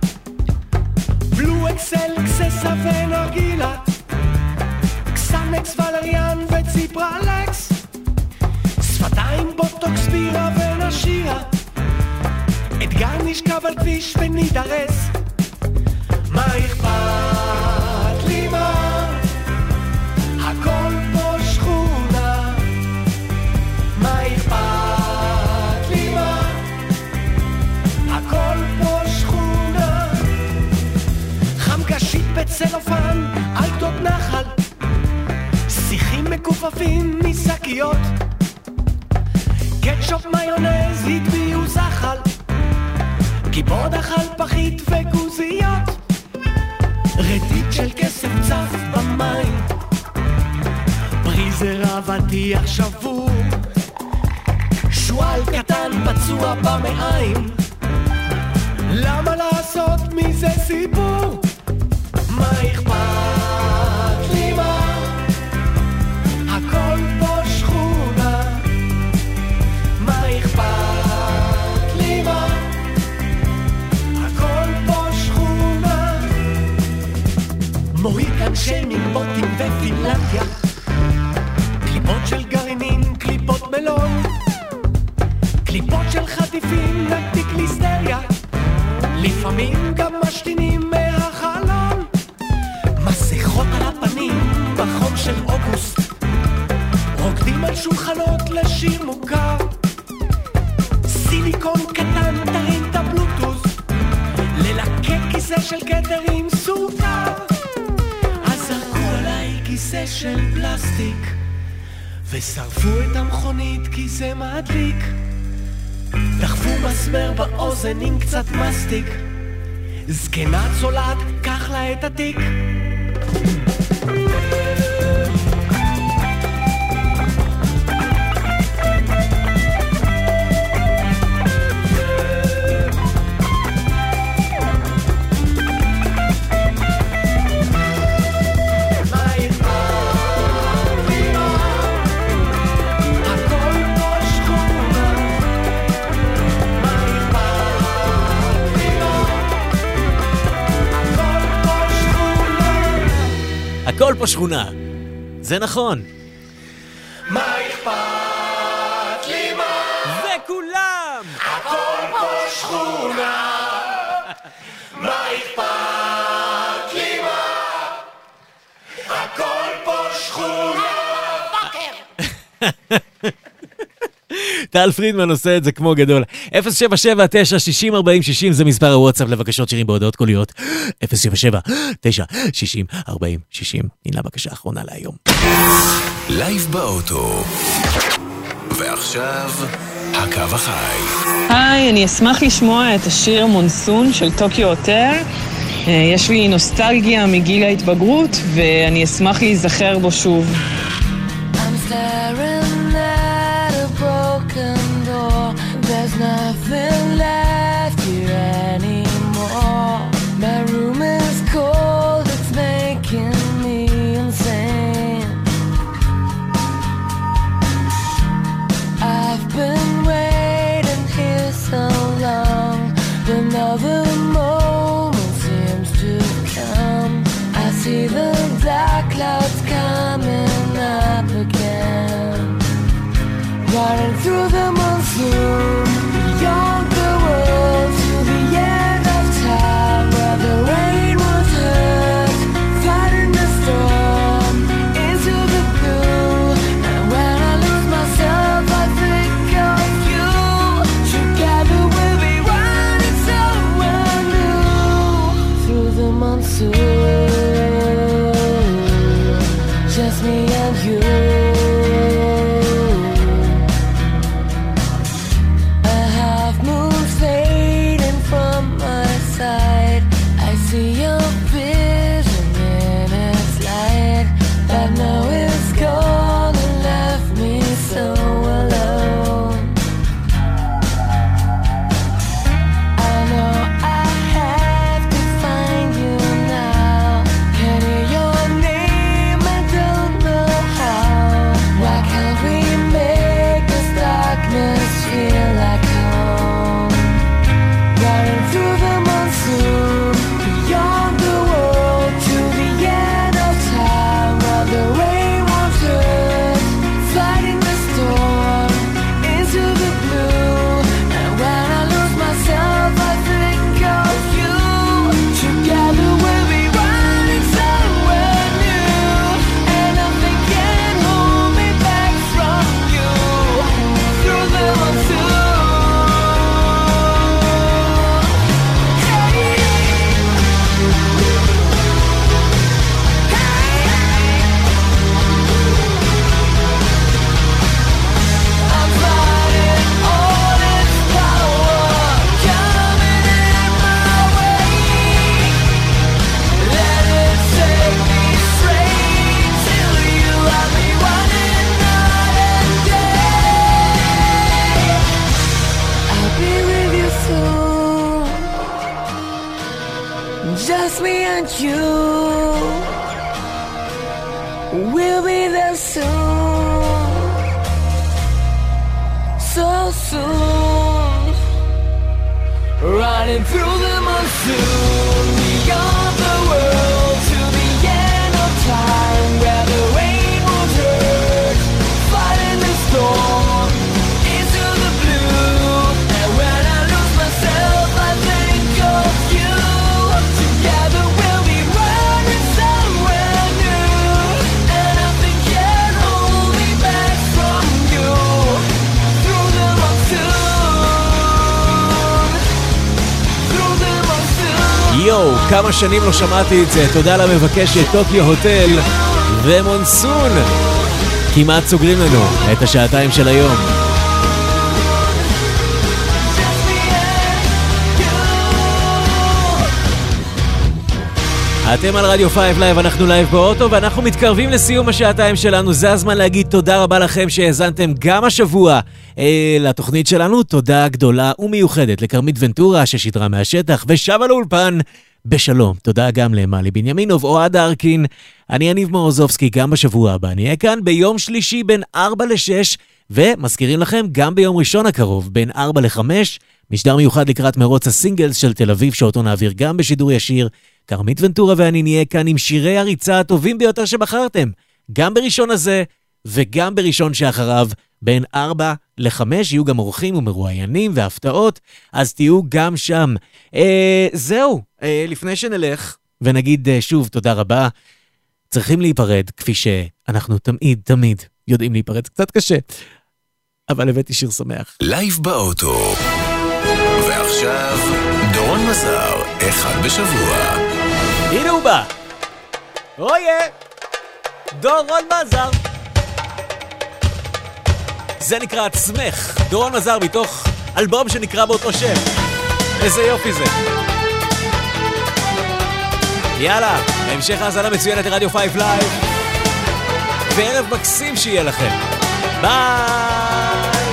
S19: בלו אקסל, אקססה ונרגילה, קסנקס ולריאן וציפרלקס, שפתיים בוטוקס בירה ונשירה, אתגר נשכב על כביש ונידרס, מה אכפת לי מה, הכל פה שכונה, מה אכפת לי מה, הכל פה שכונה, חמקשית בצלופן על גדות נחל, שיחים מכופפים משקיות, קטשופ מיונז הטביעו זחל, גיבוד אכל פחית וגוזיות, רדית של כסף צף במים, פריזר אבטיח שבור, שואל קטן פצוע במעיים, למה לעשות מזה סיפור? מה אכפת לי מה, הכל פה שכונה, מה אכפת לי מה, הכל פה שכונה, מוהיקן שיימינג בוטים ופינלנדיה, קליפות של גרעינים, קליפות מלון, קליפות של חטיפים, נקטיק ליסטריה, לפעמים גם משתינים מהחלון, מסכות על הפנים בחום של אוגוסט, רוקדים על שולחנות לשיר מוכר, סיליקון קטן תרים את הבלוטוס, ללקק כיסא של כתר עם סוכר, אז זרקו עליי כיסא של פלסטיק, ושרפו את המכונית כי זה מדליק, דחפו מסמר באוזן עם קצת מסטיק, זקנה צולעת, קח לה את התיק. הכל
S3: הכל פה שכונה. זה נכון.
S12: מה אכפת לי מה?
S3: וכולם!
S12: הכל פה שכונה. מה אכפת לי מה? הכל פה שכונה.
S3: טל פרידמן עושה את זה כמו גדול. 077-960-4060 זה מספר הוואטסאפ לבקשות שירים בהודעות קוליות. 077-960-4060. הנה הבקשה האחרונה להיום.
S1: לייב באוטו. ועכשיו, הקו החי.
S10: היי, אני אשמח לשמוע את השיר מונסון של טוקיו הוטל. יש לי נוסטלגיה מגיל ההתבגרות, ואני אשמח להיזכר בו שוב.
S2: I'm staring at a broken door. There's nothing left here anymore. My room is cold, it's making me insane. I've been waiting here so long. Another moment seems to come. I see the dark clouds coming up again, running through the monsoon, beyond the world to the end of time, where the rain won't hurt, fighting the storm into the blue. And when I lose myself, I think of you. Together we'll be running somewhere new, through the monsoon. Just me and you. A half moon fading from my side. I see your vision in its light, but now it's gone and left me so alone. I know I have to find you now. Can hear your name, I don't know how. Why can't we make this darkness feel like home? Running through the monsoon, beyond the world to the end of time, where the rain won't hurt, fighting the storm into the blue. And when I lose myself, I think of you. Together we'll be running somewhere new, and nothing can hold me back from you. Through the monsoon. I'm fighting all its power coming in my way. Let it take me straight till you have me running night and day. I'll be with you soon, just me and you. We'll be there soon, so soon. Running through the monsoon, beyond the world to the end of time, where the rain won't hurt, fighting the storm into the blue. And when I lose myself, I think of you. Together we'll be running somewhere new, and nothing can hold me back from you. Through the monsoon, through the monsoon.
S3: יואו, כמה שנים לא שמעתי את זה. תודה למבקשת טוקיו הוטל ומונסון. כמעט סוגרים לנו את השעתיים של היום. אתם על רדיו 5 לייב, אנחנו לייב באוטו, ואנחנו מתקרבים לסיום השעתיים שלנו. זה הזמן להגיד תודה רבה לכם שהאזנתם גם השבוע לתוכנית שלנו. תודה גדולה ומיוחדת לקרמית ונטורה ששידרה מהשטח ושבה לאולפן בשלום. תודה גם למלי בנימינוב, אוהד ארקין. אני יניב מורוזובסקי. גם בשבוע הבא אני אהיה כאן ביום שלישי בין 4 ל-6, ומזכירים לכם גם ביום ראשון הקרוב בין 4 ל-5, משדר מיוחד לקראת מרוץ הסינגלס של תל אביב, שאותו נעביר גם בשידור ישיר קרמית ונטורה ואני נהיה כאן עם שירי הריצה הטובים ביותר שבחרתם, גם בראשון הזה וגם בראשון שאחריו. בין 4 ל-5 יהיו גם אורחים ומרואיינים והפתעות, אז תהיו גם שם. זהו, לפני שנלך ונגיד שוב תודה רבה, צריכים להיפרד כפי שאנחנו תמיד יודעים להיפרד, קצת קשה, אבל הבאתי שיר שמח.
S1: לייב באוטו. ועכשיו דורון מזר, אחד בשבוע.
S3: הנה הוא בא. אויה, דורון מזר. זה נקרא עצמך, דורון מזר מתוך אלבום שנקרא באותו שם. איזה יופי זה. יאללה, המשך האזנה מצוינת לרדיו 5 לייב, וערב מקסים שיהיה לכם. ביי.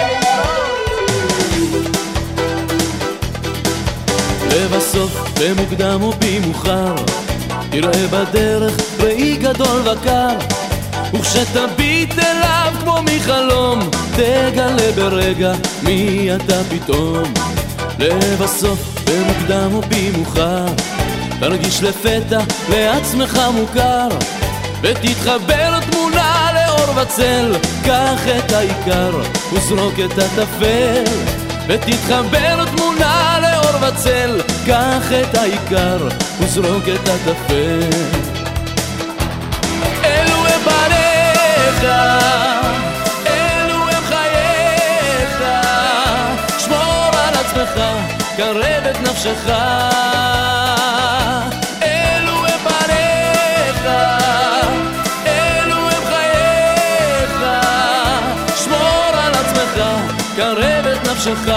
S12: לבסוף במוקדם או במאוחר תראה בדרך ראי גדול וקר, וכשתביט אליו כמו מחלום תגלה ברגע מי אתה פתאום. לבסוף במוקדם או במאוחר תרגיש לפתע לעצמך מוכר, ותתחבר תמונה לאור וצל, קח את העיקר וזרוק את הטפל. ותתחבר תמונה לאור וצל, קח את העיקר וזרוק את הטפל. אלו הם בניך, אלו הם חייך, שמור על עצמך, קרב את נפשך. אלו הם בניך, אלו הם חייך, שמור על עצמך, קרב את נפשך.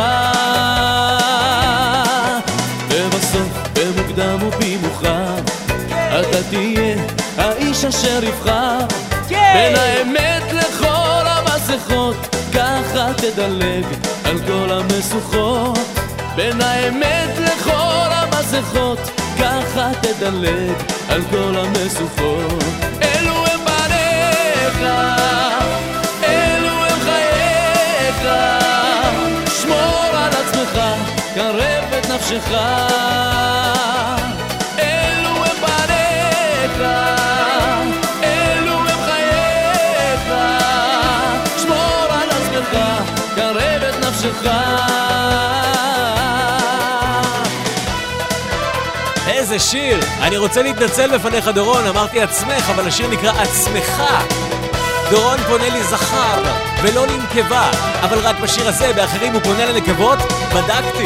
S12: ובסוף במוקדם ובמאוחר אתה תהיה האיש אשר יבחר, בין האמת לכל המסכות ככה תדלג על כל המשוכות. בין האמת לכל המסכות ככה תדלג על כל המשוכות. אלו הם בניך, אלו הם חייך, שמור על עצמך, קרב את נפשך. אלו הם בניך, אלו הם חייך, שמור על עצמך, קרב את נפשך.
S3: איזה שיר! אני רוצה להתנצל בפניך דורון, אמרתי עצמך, אבל השיר נקרא עצמך. דורון פונה לי זכר ולא לנקבה, אבל רק בשיר הזה, באחרים הוא פונה לנקבות, בדקתי.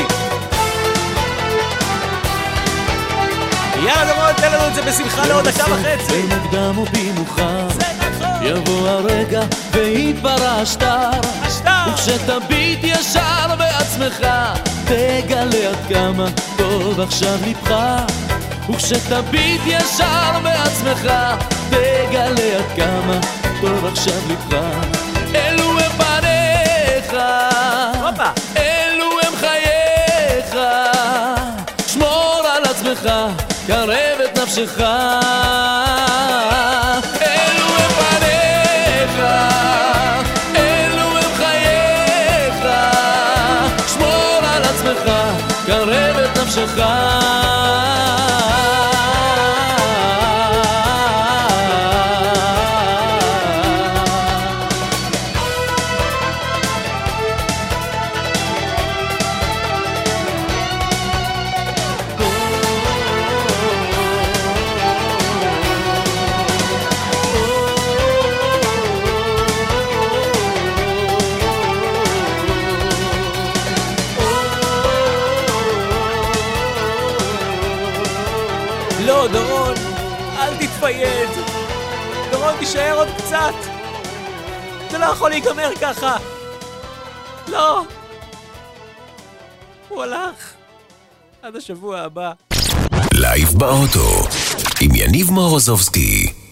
S3: יאללה דורון, תן לנו את זה בשמחה לעוד דקה וחצי.
S12: במוקדם ובמאוחר יבוא הרגע ויתברא השטר, וכשתביט ישר בעצמך תגלה עד כמה טוב עכשיו לבך. וכשתביט ישר בעצמך תגלה עד כמה טוב עכשיו לבך. אלו הם בניך, אלו הם חייך, שמור על עצמך, קרב את נפשך. אלו הם בניך, אלו הם חייך, שמור על עצמך, קרב את נפשך.
S3: לא, דורון, אל תתפייד. דורון, תישאר עוד קצת. זה לא יכול להיגמר ככה. לא. הוא הלך. עד השבוע הבא.
S1: לייב באוטו עם יניב מורוזובסקי.